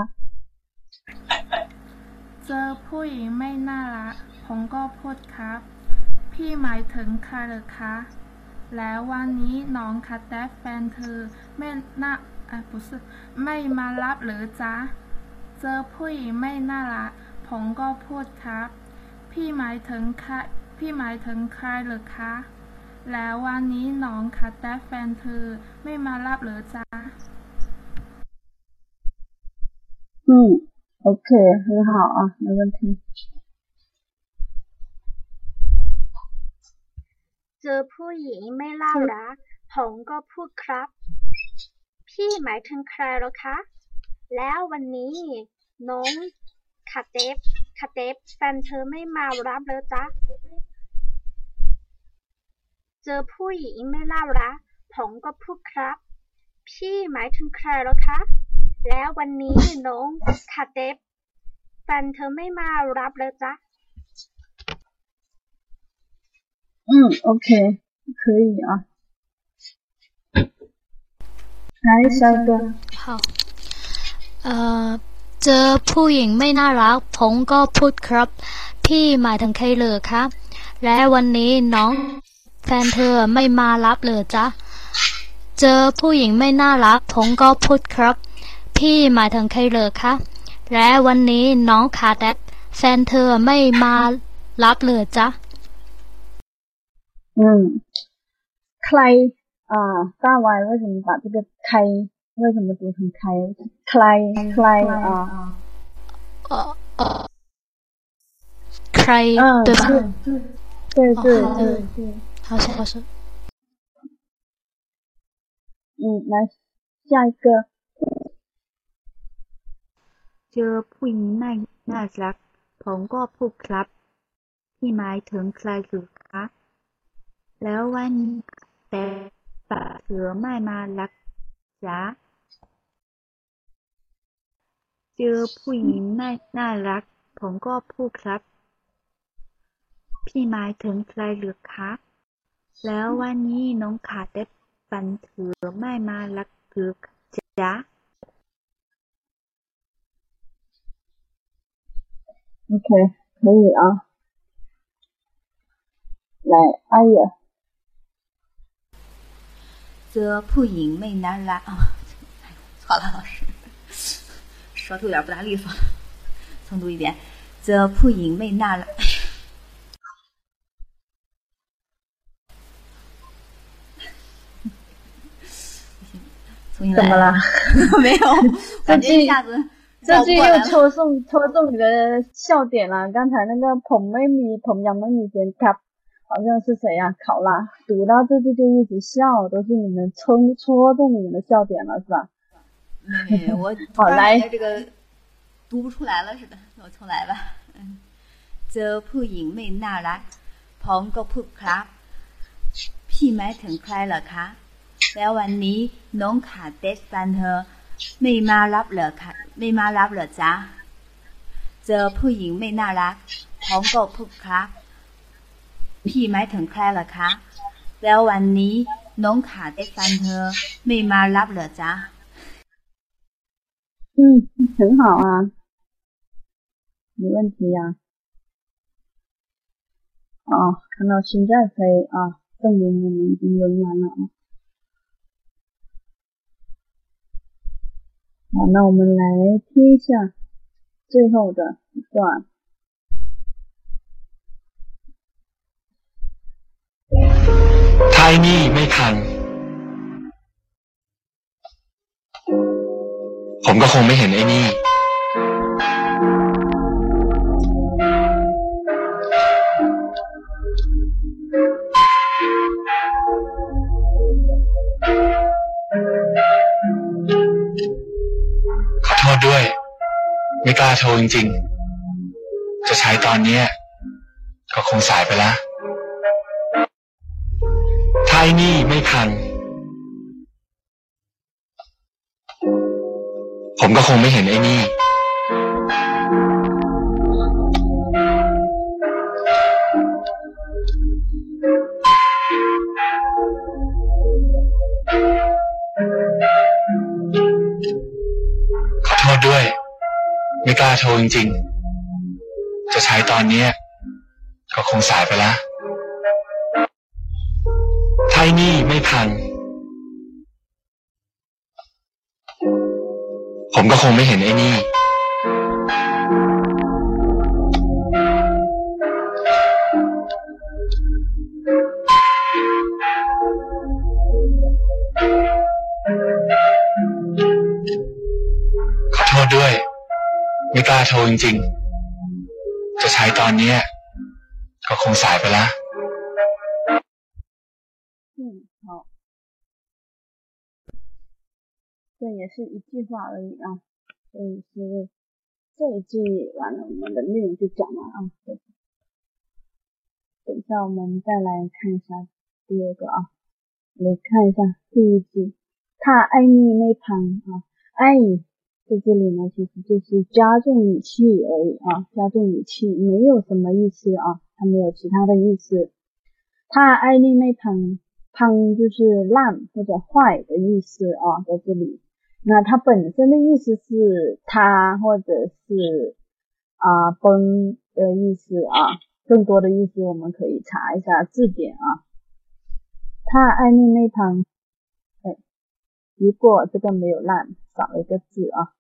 เจอผู้หญิงไม่น่ารักผมก็พูดครับพี่หมายถึงใครเหรอคะแล้ววันนี้น้องคาเต้แฟนเธอไม่น่าอ่ะ不是ไม่มารับหรือจ๊ะเจอผู้หญิงไม่น่ารักผมก็พูดครับพี่หมายถึงใครพี่หมายถึงใครเหรอคะแล้ววันนี้น้องคาเต้แฟนเธอไม่มารับหรือจ๊ะ嗯 OK 很好啊没问题เจอผู้หญิงไม่น่ารักผมก็พูดครับพี่หมายถึงใครเหรอคะแล้ววันนี้น้องคาเต็บคาเต็บแฟนเธอไม่มารับเลยจ๊ะเจอผู้หญิงไม่น่ารักผมก็พูดครับพี่หมายถึงใครเหรอคะแล้ววันนี้น้องคาเต็บแฟนเธอไม่มารับเลยจ๊ะ嗯 OK 可以啊来下一个好เอ่อเจอผู้หญิงไม่น่ารักผมก็พูดครับพี่หมายถึงใครเหรอคะและวันนี้น้องแฟนเธอไม่มารับเลยจ๊ะเจอผู้หญิงไม่น่ารักผมก็พูดครับพี่หมายถึงใครเหรอคะและวันนี้น้องขาแดดแฟนเธอไม่มารับเลยจ๊ะ嗯ใคร啊大歪为什么把这个开为什么读成开ใครใคร啊呃呃ใคร对吧对对对对好像好像嗯来下一个เจอผู้หญิงน่าน่ารักผมก็พูดครับที่หมายถึงใครหรือคะแล้ววันแต่ป่าเสือไม่มารักจ๊ะเจอผู้หญิงน่าน่ารักผมก็พูดครับพี่หมายถึงใครหรือคะแล้ววันนี้น้องขาได้ปันเสือไม่มารักหรือจ๊ะ OK 可以啊来阿野เจอผู้หญิงไม่น่ารัก啊错了老师舌头有点不大利索重读一遍เจอผู้หญิงไม่น่ารัก怎么了没有感觉一下子这句又戳中戳中你的笑点了刚才那个ผมไม่มีผมยังไม่มีแฟนครับ好像是谁呀、啊？考拉读到这句就一直笑，都是你们戳戳中你们的笑点了，是吧？ 没没，我好来这个读不出来了似的，我重来吧。嗯，เจอผู้หญิงไม่น่ารักผมก็พูดครับพี่หมายถึงใครเหรอคะแล้ววันนี้น้องขาเตสแฟนเธอไม่มารับเหรอคะไม่มารับเหรอจ๊ะเจอผู้หญิงไม่น่ารักผมก็พูดครับพี่หมายถึงใครเหรอคะแล้ววันนี้น้องขาได้แฟนเธอไม่มารับเหรอจ๊ะ嗯很好啊没问题呀、啊、哦看到现在可以啊证明我们已经轮完了啊好那我们来听一下最后的一段ถ้าไอ้นี่ไม่ทันผมก็คงไม่เห็นไอ้นี่ขอโทษด้วยไม่กล้าโทรจริงๆจะใช้ตอนนี้ก็คงสายไปแล้วถ้าไอ้นี่ไม่ทันผมก็คงไม่เห็นไอ้นี่ขอโทษด้วยไม่กล้าโทรจริงๆจะใช้ตอนนี้ก็คงสายไปแล้วถ้าไอ้นี่ไม่ทันผมก็คงไม่เห็นไอ้นี่ขอโทษด้วยไม่กล้าโทรจริงๆจะใช้ตอนนี้ก็คงสายไปแล้ว嗯好这也是一句话而已啊所以是这一句完了，我们的内容就讲完啊。等一下我们再来看一下第二个啊，来看一下第一句，他爱你没旁啊，爱在这里呢其实就是加重语气而已啊，加重语气没有什么意思啊，它没有其他的意思。他爱你没旁，旁就是烂或者坏的意思啊，在这里。那它本身的意思是他或者是啊崩的意思啊，更多的意思我们可以查一下字典啊。他爱你没旁，哎，如果这个没有烂，少了一个字啊。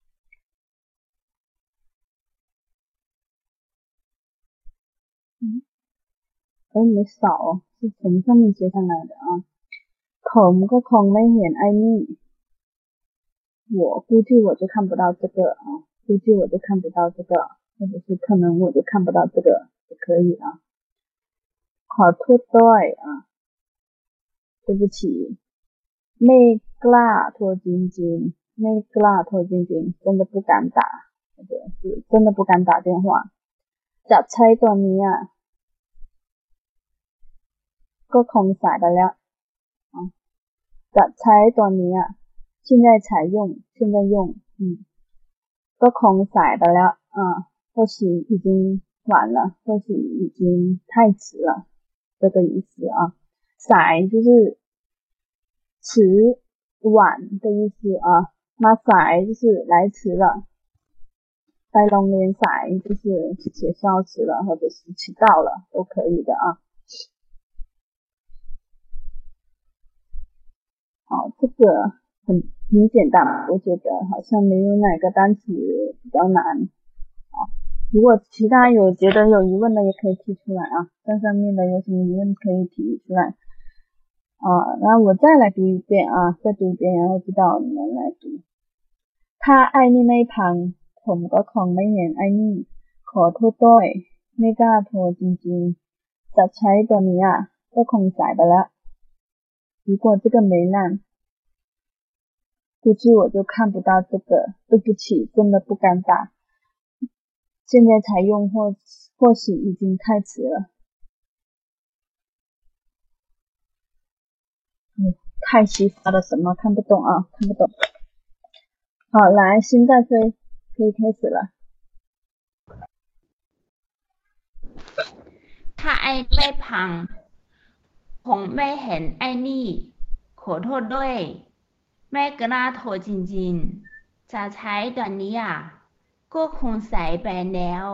嗯，哎，没少哦，是从上面接上来的啊。ผมก็คงไม่เห็นไอ้นี่我估计我就看不到这个啊，估计我就看不到这个，或者是可能我就看不到这个也可以啊。ขอโทษด้วย啊，对不起。ไม่กล้าโทรจริงๆไม่กล้าโทรจริงๆ真的不敢打，或者是真的不敢打电话。จะใช้ตัวนี้อ่ะก็คงสายไปแล้วอ่ะจะใช้ตัวนี้อ่ะ现在才用现在用嗯ก็คงสายไปแล้ว啊或许已经晚了或许已经太迟了这个意思啊。สาย就是迟晚的意思啊，มาสาย就是来迟了，ไปโรงเรียนสาย就是学校迟了或者是迟到了都可以的啊。好，这个很很简单，我觉得好像没有哪个单词比较难啊。如果其他有觉得有疑问的也可以提出来啊，在上面的有什么疑问可以提出来啊。那我再来读一遍啊，再读一遍，然后知道你们来读。ถ้าไอ้นี่ไม่พังผมก็คงไม่เห็นไอ้นี่ขอโทษด้วยไม่กล้าโทรจริงๆจะใช้ตัวนี้อ่ะก็คงสายไปแล้ว如果这个没烂估计我就看不到这个，对不起，真的不敢打。现在才用或或许已经太迟了。嗯，太稀发了什么看不懂啊，看不懂。好，来，心在飞，可以开始了。 ถ้าไอ้ไม่พังคงไม่เห็นไอ้นี่ขอโทษด้วยไม่กล้าโทรจริงๆจะใช้ตอนนี้อ่ะก็คงสายไปแล้ว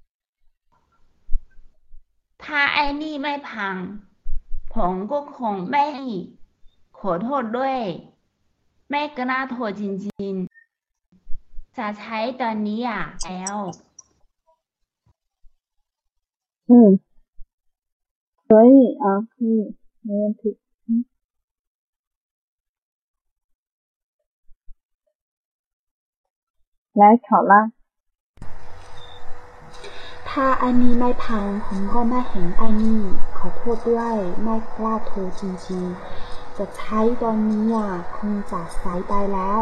ถ้าไอ้นี่ไม่พังผมก็คงไม่ขอโทษด้วยไม่กล้าโทรจริงๆจะใช้ตอนนี้อ่ะแล้ว嗯，可以啊，可以，没问题。嗯。来考啦。 ถ้าไอ้นี่ไม่พังผมก็ไม่เห็นไอ้นี่ขอโทษด้วยไม่กล้าโทรจริงๆจะใช้ตอนนี้อ่ะคงจะสายไปแล้ว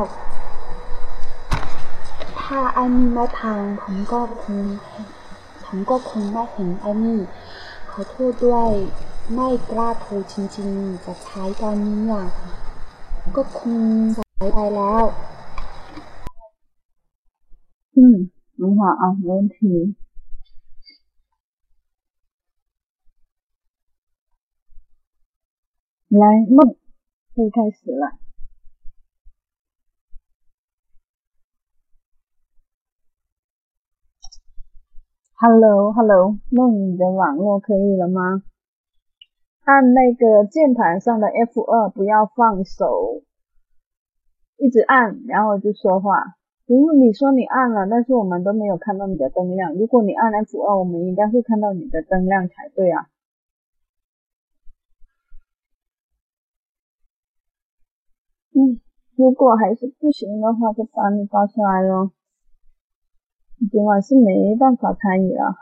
ถ้าไอ้นี่ไม่พังผมก็คงผมก็คงไม่เห็นไอ้นี่ขอโทษด้วยไม่กล้าโทรจริงๆจะใช้ตอนนี้อ่ะก็คงสายไปแล้ว嗯，很好啊，没问题。来，梦可以开始了。Hello，Hello， 梦，你的网络可以了吗？按那个键盘上的 F 二，不要放手，一直按，然后就说话。如果你说你按了，但是我们都没有看到你的灯亮，如果你按 F 二， 我们应该会看到你的灯亮才对啊。嗯，如果还是不行的话，就把你抱起来咯。你今晚是没办法参与了。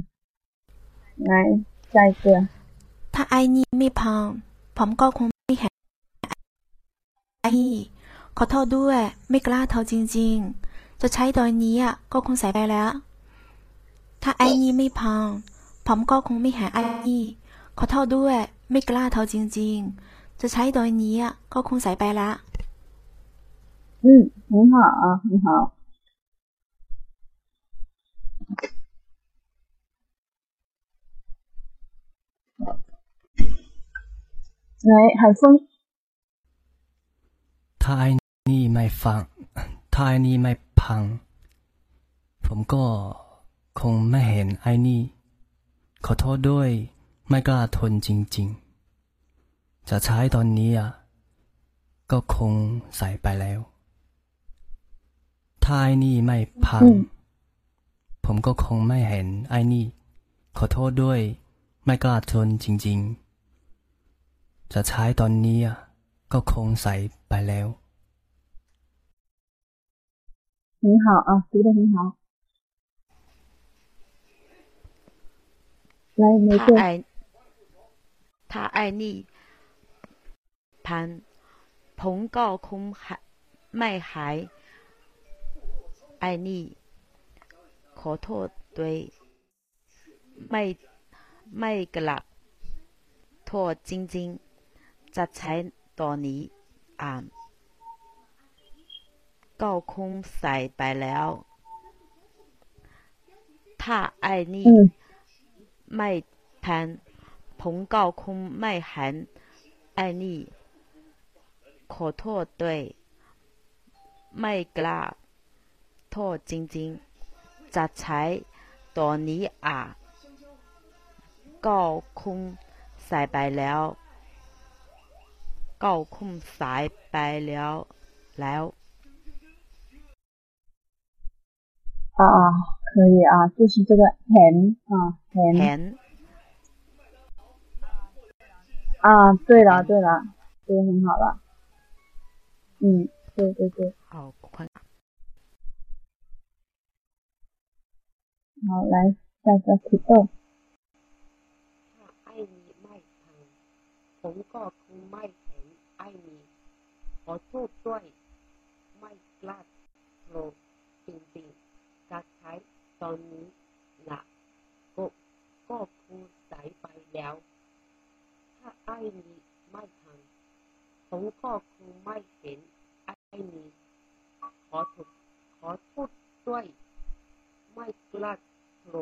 来，下一个。 ถ้าไอ้นี่ไม่พังผมก็คงไม่เห็นไอ้นี่ขอโทษด้วยไม่กล้าโทรจริงๆจะใช้ตอนนี้อ่ะก็คงใส่ไปแล้ว ถ้าไอ้นี่ไม่พังผมก็คงไม่หาไอ้นี่ขอโทษด้วยไม่กล้าโทรจริงๆจะใช้ตอนนี้อ่ะก็คงใส่ไปแล้ว嗯，很好啊，很好。来，海峰。 ถ้าไอ้นี่ไม่ฟังถ้าไอ้นี่ไม่พังผมก็คงไม่เห็นไอ้นี่ขอโทษด้วยไม่กล้าทนจริงๆจะใช้ตอนนี้อ่ะก็คงใส่ไปแล้วถ้าไอ้นี่ไม่พังผมก็คงไม่เห็นไอ้นี่ขอโทษด้วยไม่กล้าทนจริงๆจะใช้ตอนนี้อ่ะก็คงใส่ไปแล้ว很好啊，读得很好。来，玫瑰。 ถ้าไอ้ถ้าไอ้นี่พันผมก็คงไม่หายไอ้นี่ขอโทษด้วยไม่ไม่กลับโทษจริงๆจะใช้ตอนนี้อ่านก็คงใส่ไปแล้วถ้าไอ้นี่ไม่พันผมก็คงไม่หันไอ้นี่ขอโทษด้วยไม่กล้าโทษจริงๆจะใช้ตอนนี้อ่ะก็คงใส่ไปแล้วก็คงใส่ไปแล้วแล้ว啊啊，可以啊，就是这个很啊很很啊，对了对了，对，很好了。嗯，对对对。 好，快。 好，来下个土豆。 ถ้าไอ้นี้ไม่พังผมก็คงไม่เห็นไอ้นี้ขอโทษด้วยไม่กล้าโทรจริงๆจะใช้ตอนนี้นะก็ก็คงใส่ไปแล้วถ้าไอ้นี้ไม่พังผมก็คงไม่เห็นไอ้นี้ขอโทษขอโทษด้วยไม่กล้าโทร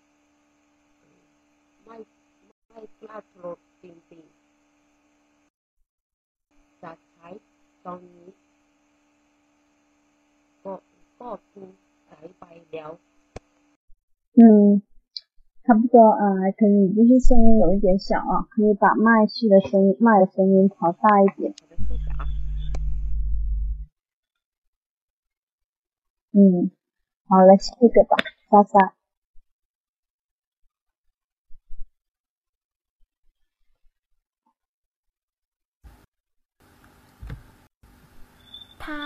ไม่ไม่กล้าโทรจริงๆจะใช้ตอนนี้ก็ก็คงใส่ไปแล้ว嗯，差不多啊，还可以，就是声音有一点小啊，可以把麦序的声音、麦的声音调大一点。嗯，好，来下一个吧，莎莎。 ถ้า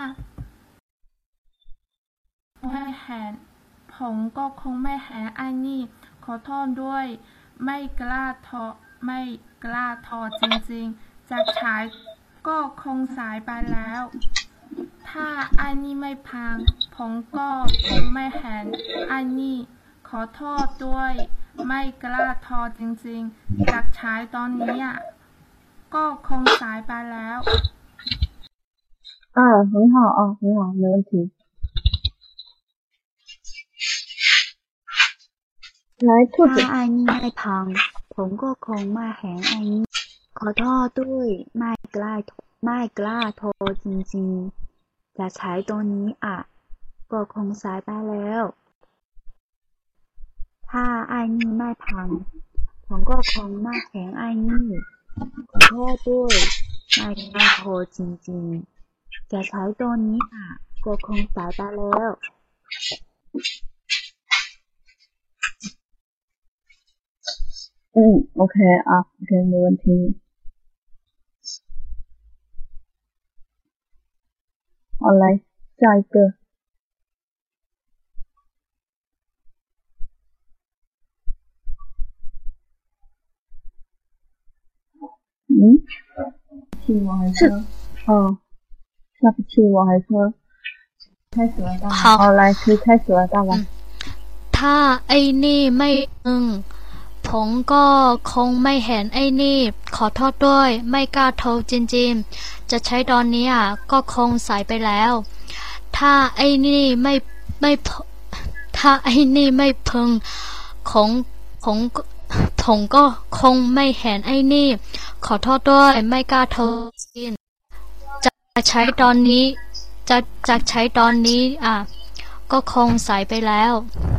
ไม่แหนผมก็คงไม่แหนไอ้นี่ขอโทษด้วยไม่กล้าทอไม่กล้าทอจริงๆจะใช้ก็คงสายไปแล้วถ้าไอ้นี่ไม่พังผมก็คงไม่แหนไอ้นี่ขอโทษด้วยไม่กล้าทอจริงๆจะใช้ตอนนี้ก็คงสายไปแล้ว啊，很好啊，很好，没问题。来，兔子。 ถ้าไอ้นี่ไม่พังผมก็คงไม่เห็นไอ้นี่ขอโทษด้วยไม่กล้าไม่กล้าโทรจริงๆจะใช้ตัวนี้อ่ะก็คงสายไปแล้วถ้าไอ้นี่ไม่พังผมก็คงไม่เห็นไอ้นี่ขอโทษด้วยไม่กล้าโทรจริงๆจะใช้ตัวนี้อ่ะก็คงสายไปแล้ว嗯 ，OK 啊 ，OK， 没问题。好，来下一个。嗯，气我还喝？哦，下不去我还喝。 开始了，大好， 好，来，可以开始了，大王。 ถ้าไอ้นี่ไม่พึงผมก็คงไม่เห็นไอ้นี่ขอโทษด้วยไม่กล้าโทรจริงๆจะใช้ตอนนี้อ่ะก็คงสายไปแล้วถ้าไอ้นี่ไม่ไม่ถ้าไอ้นี่ไม่พึงคงคงผมก็คงไม่เห็นไอ้นี่ขอโทษด้วยไม่กล้าโทรจริงจะใช้ตอนนี้จะจะใช้ตอนนี้อ่ะก็คงสายไปแล้ว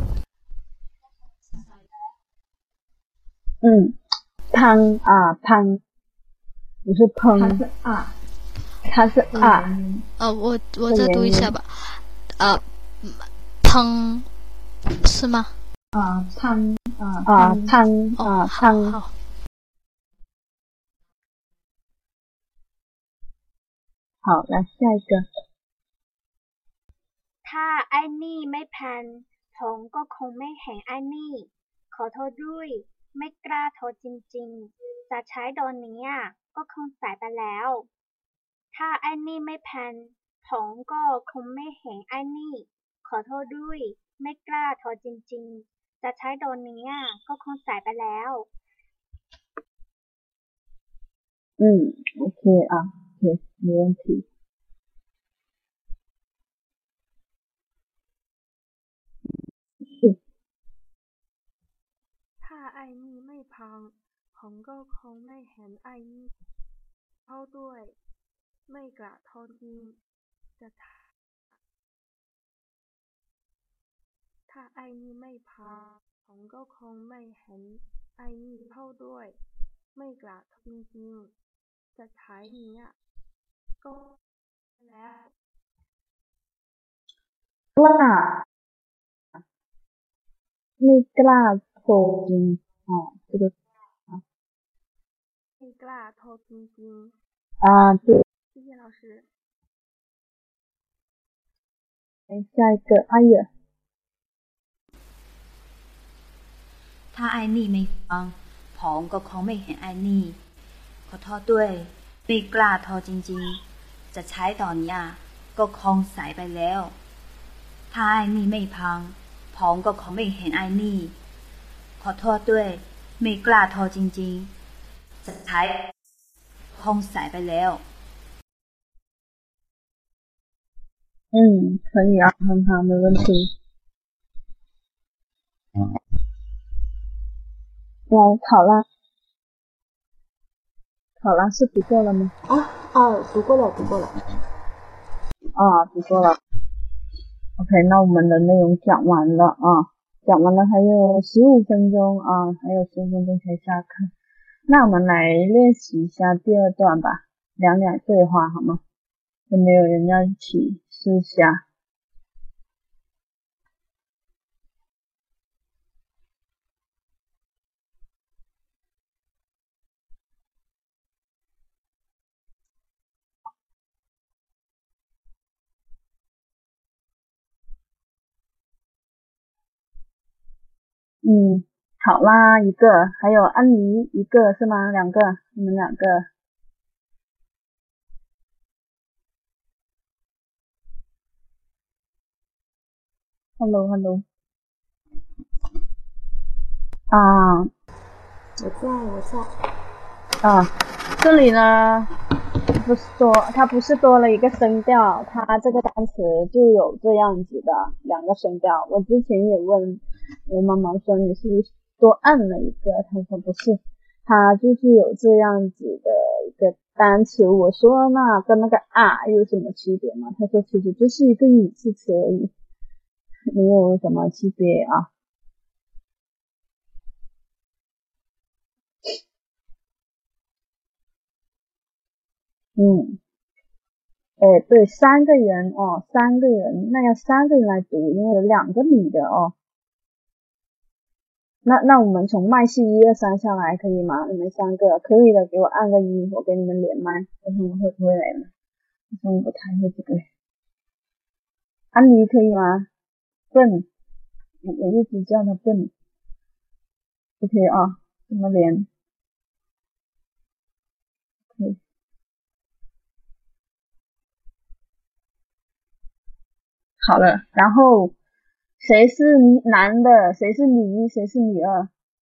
嗯，砰啊砰，不是砰， 它是啊， 它是啊。 呃，我我再读一下吧。呃，砰，是吗？ 啊砰啊啊砰啊砰。 好。 好，来下一个。 ถ้าไอ้นี่ไม่แพนผมก็คงไม่เห็นไอ้นี่ขอโทษด้วยไม่กล้าโทรจริงๆจะใช้ตอนนี้ก็คงสายไปแล้วถ้าไอ้นี่ไม่แพนผมก็คงไม่เห็นไอ้นี่ขอโทษด้วยไม่กล้าโทรจริงๆจะใช้ตอนนี้ก็คงสายไปแล้ว嗯 ，OK 啊 ，OK， 没问题。 ถ้าไอ้นี่ไม่พังผมก็คงไม่เห็นไอ้นี่เข้าด้วยไม่กระทนจริงจะถ้าไอ้นี่ไม่พังผมก็คงไม่เห็นไอ้นี่เข้าด้วยไม่กระทนจริงจะใช้นี้ก็แล้วกล้าไม่กล้าโทรจริง哦，这个啊， ไม่กล้าโทรจริง啊，对， 谢谢老师。 下一个阿月。 ถ้าไอ้นี่ไม่ฟังผมก็คงไม่เห็นไอ้นี่ขอโทษด้วยไม่กล้าโทรจริงๆจะใช้ตอนนี้ก็คงสายไปแล้วถ้าไอ้นี่ไม่พังผมก็คงไม่เห็นไอ้นี่ขอโทษด้วยไม่กล้าโทรจริงๆจะใช้คงสายไปแล้ว嗯，可以啊，很好，没问题。来，考拉，考拉是读过了吗？ 哦哦，读过了，读过了。 啊，读过了。OK， 那我们的内容讲完了啊，讲完了还有十五分钟啊，还有十五分钟才下课。那我们来练习一下第二段吧，两两对话好吗？有没有人要一起试一下？嗯，好啦，一个，还有安妮一个是吗？两个，你们两个。Hello Hello。啊， 我在我在。 啊，这里呢，不是多，它不是多了一个声调，它这个单词就有这样子的两个声调。我之前也问我妈妈说你是不是多按了一个，她说不是，它就是有这样子的一个单词。我说那跟那个啊有什么区别吗？她说其实就是一个语气词而已，没有什么区别啊。嗯，哎，对，三个人哦，三个人，那要三个人来读，因为有两个女的哦。那那我们从麦序一二三下来可以吗？你们三个可以的，给我按个一，我给你们连麦，看他们会不会来呢？他们不太会这个。安妮可以吗？笨，我我一直叫他笨。OK 啊，怎么连？可以。 好了，然后谁是男的，谁是女一，谁是女二？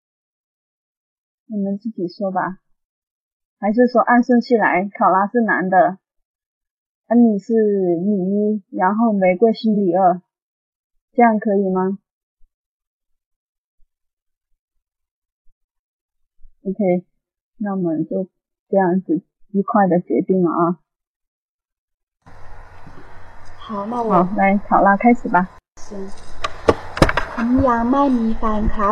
你们自己说吧。还是说按顺序来，考拉是男的，安妮是女一，然后玫瑰是女二，这样可以吗 ？OK， 那我们就这样子愉快的决定了啊。 好，那我好，来考拉开始吧。 行，ผมยังไม่มีแฟนครับ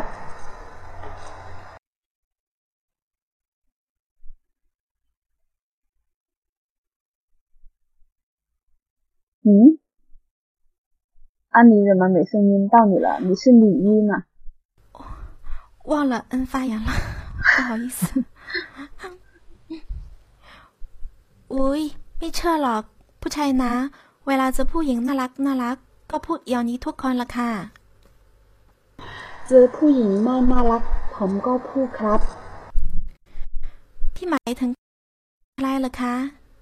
嗯，安妮怎么没声音到你了？你是女一嘛？ 忘了摁发言了，不好意思。อุ๊ยไม่เชื่อหรอกผู้ชายนะเวลาเจอผู้หญิงน่ารักน่ารักก็พูดอย่างนี้ทุกคนละค่ะเจอผู้หญิงไม่น่ารักผมก็พูดครับพี่หมายถึงอะไรล่ะคะ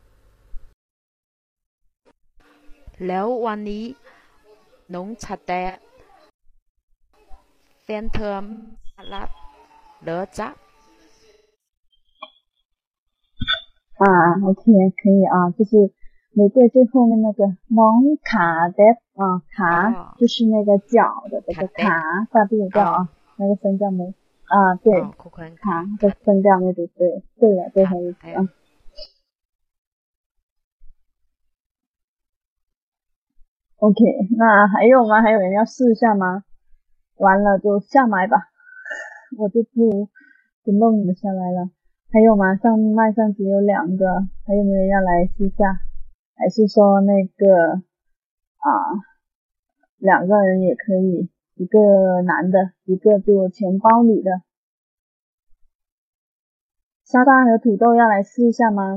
แล้ววันนี้น้องชาแตแฟนเธอรับเหรอจ๊ะ啊 ，OK， 可以啊，就是玫瑰最后面那个น้อง卡的啊，卡、哦、就是那个脚的这个卡，发不掉啊，那个声调没啊，对，哦、卡的声调没读对，对了，最后一次啊。OK， 那还有吗？还有人要试一下吗？完了就下麦吧，我就不不弄你们下来了。还有吗？上麦上只有两个，还有没有人要来试一下？还是说那个啊，两个人也可以，一个男的，一个就钱包里的。沙巴和土豆要来试一下吗？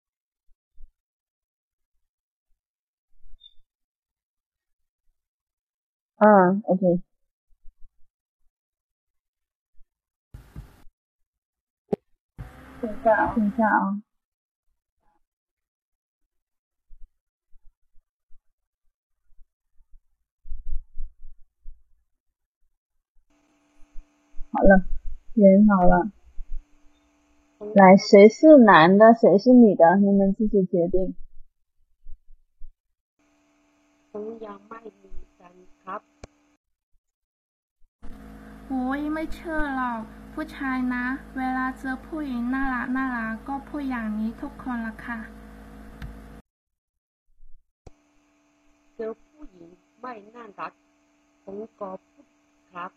嗯 ，OK。等一下，等一下啊。好了，人好了。来，谁是男的，谁是女的，你们自己决定。 ผมยังไม่มีแฟนครับโอ้ยไม่เชื่อหรอกผู้ชายนะเวลาเจอผู้หญิงน่ารักน่ารักก็พูดอย่างนี้ทุกคนละค่ะเจอผู้หญิงไม่น่ารักผมก็พูดครับ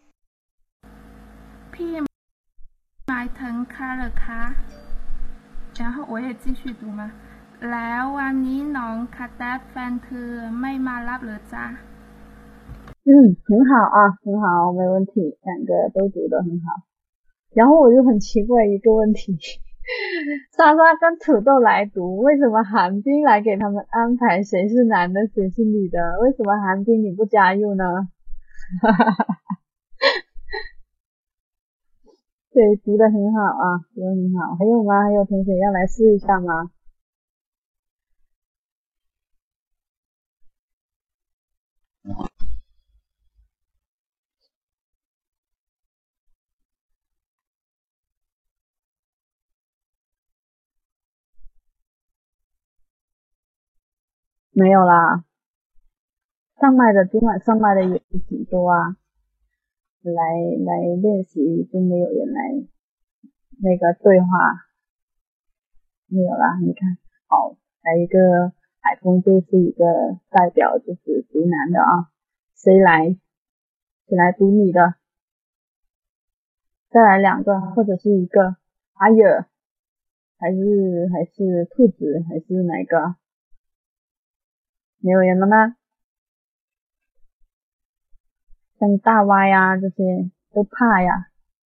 พี่หมายถึงค่ะเหรอคะ然后我也继续读嘛แล้ววันนี้น้องคาแตสแฟนเธอไม่มารับเหรอจ๊ะ嗯，很好啊，很好，没问题，两个都读得很好。然后我就很奇怪一个问题，莎莎跟土豆来读，为什么韩冰来给他们安排谁是男的谁是女的？为什么韩冰你不加入呢？对，读得很好啊，读得很好。还有吗？还有同学要来试一下吗？没有啦，上麦的今晚上麦的也是挺多啊，来来练习就没有人来那个对话，没有啦，你看，好，来一个海峰就是一个代表，就是读男的啊，谁来？谁来读女的？再来两个或者是一个，阿尔还是还是兔子还是哪个？没有人了吗？像大蛙呀这些都怕呀。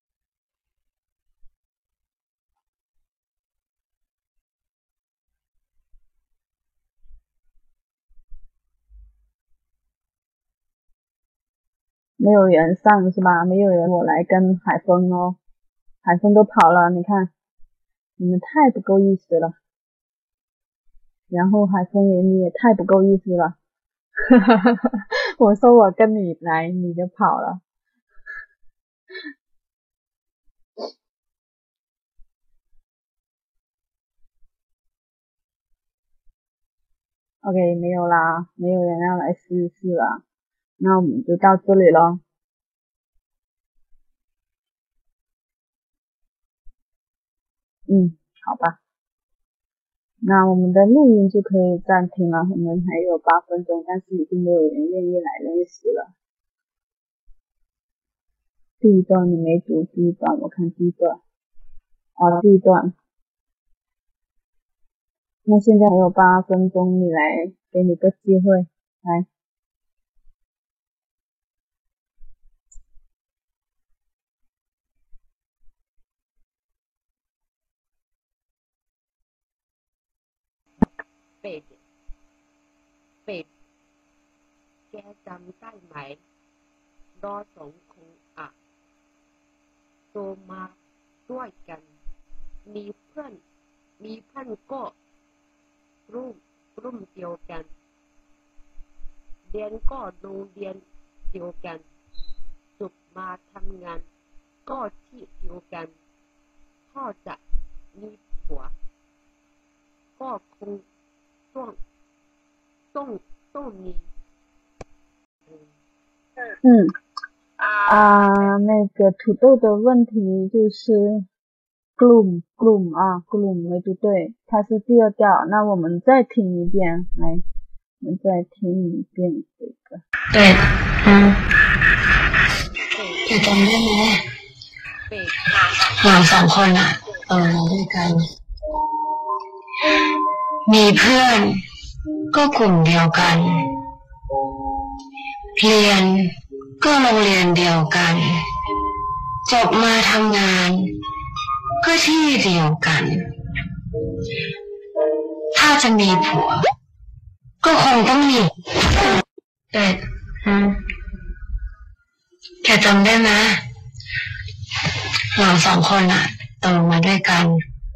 没有人上是吧？没有人，我来跟海峰哦。海峰都跑了，你看，你们太不够意思了。然后海峰也你也太不够意思了。 我说我跟你来，你就跑了。OK， 没有啦，没有人要来试试了，那我们就到这里咯。嗯，好吧，那我们的录音就可以暂停了，我们还有八分钟，但是已经没有人愿意来练习了。第一段你没读，第一段我看第一段，哦，第一段。那现在还有八分钟，你来，给你个机会，来。 เป็ดเป็ดแกจำได้ไหมเราสองคนอะโตมาด้วยกันมีเพื่อนมีเพื่อนก็รุ่มรุ่มเดียวกันเรียนก็โรงเรียนเดียวกันจบมาทำงานก็ที่เดียวกันพ่อจะมีผัวก็คงต้องต้องต้องมี嗯啊，那个土豆的问题就是 gloom gloom 啊 gloom 没读对，它是第二调，那我们再听一遍，来，我们再听一遍这个。 对，嗯，จะจำได้ไหมเราสองคนอ่ะโตมาด้วยกันมีเพื่อนก็กลุ่มเดียวกันเรียนก็โรงเรียนเดียวกันจบมาทำงานก็ที่เดียวกันถ้าจะมีผัวก็คงต้องมีแต่แกจำได้ไหมเราสองคนอะโตมาด้วยกัน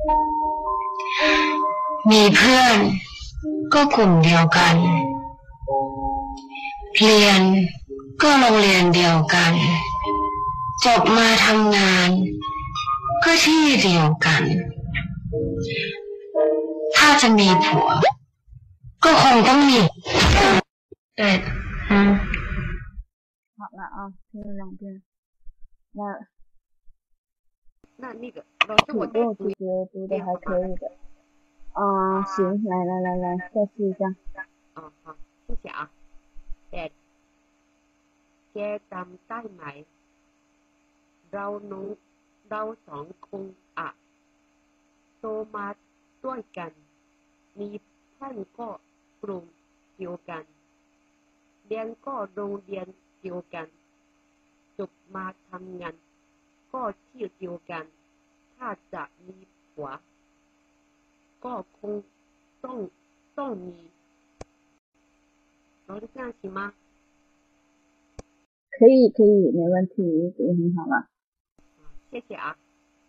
มีเพื่อนก็กลุ่มเดียวกันเรียนก็โรงเรียนเดียวกันจบมาทำงานก็ที่เดียวกันถ้าจะมีผัวก็คงต้องมี对嗯好了啊，听了两遍。那那那个老师， 土我豆其实读的还可以的。啊，行，来来来来，再试一下。 啊好，谢谢啊。แต่แกจำได้ไหมเราหนูเราสองคนอะโตมาด้วยกันมีเพื่อนก็กลุ่มเดียวกันเรียนก็โรงเรียนเดียวกันจบมาทำงานก็ที่เดียวกันถ้าจะมีผัวก็คงต้องต้องมีเรา是这样行吗？ 可以可以，没问题，读得很好了。 谢谢啊。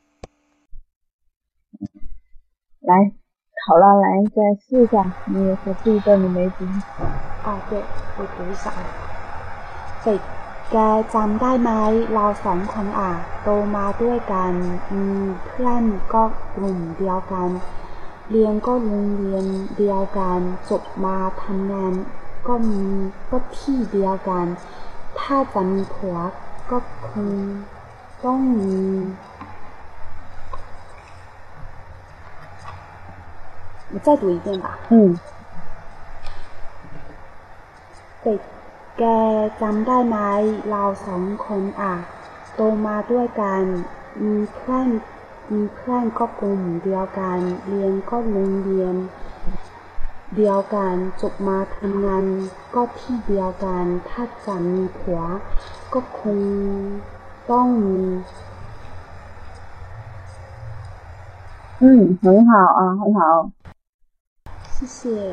来，好了，来再试一下。你也说第一段你没读。 啊，对，我读一下啊。เป็ดแกจำได้ไหมเราสองคนอ่ะโตมาด้วยกันมีเพื่อนก็กลุ่มเดียวกันเรียนก็โรงเรียนเดียวกันจบมาทำงานก็มีก็ที่เดียวกันถ้าจะมีผัวก็คงต้องมี我再读一遍吧。 嗯。 เป็ดแกจำได้ไหมเราสองคนอ่ะโตมาด้วยกันมีเพื่อนมีเพื่อนก็กลุ่มเดียวกันเรียนก็โรงเรียนเดียวกันจบมาทำงานก็ที่เดียวกันถ้าจะมีผัวก็คงต้องมี嗯，很好啊，很好。 谢谢。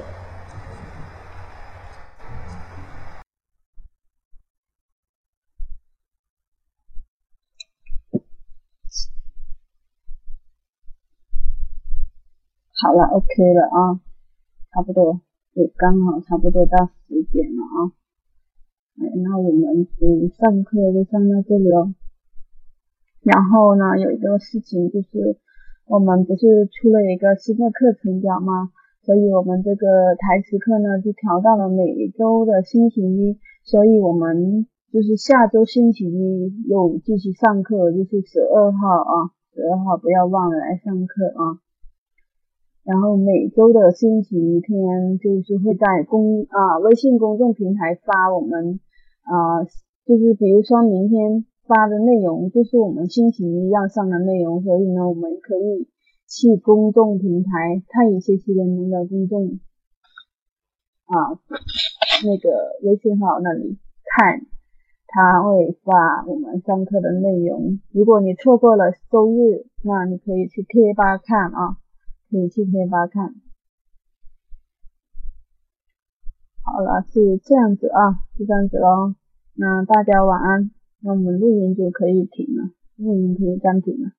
好了 ，OK 了啊，差不多。 也刚好差不多到十点了啊。哎，那我们就上课就上到这里哦。然后呢，有一个事情就是，我们不是出了一个新的课程表吗？所以我们这个台词课呢，就调到了每周的星期一，所以我们就是下周星期一又继续上课，就是十二号啊，十二号不要忘了来上课啊。然后每周的星期天就是会在公啊微信公众平台发我们啊，就是比如说明天发的内容就是我们星期一要上的内容，所以呢，我们可以去公众平台太乙学习联盟的公众啊那个微信号那里看，他会发我们上课的内容。如果你错过了周日，那你可以去贴吧看啊，可以去贴吧看。好了，是这样子啊，就这样子咯。那大家晚安，那我们录音就可以停了，录音可以暂停了。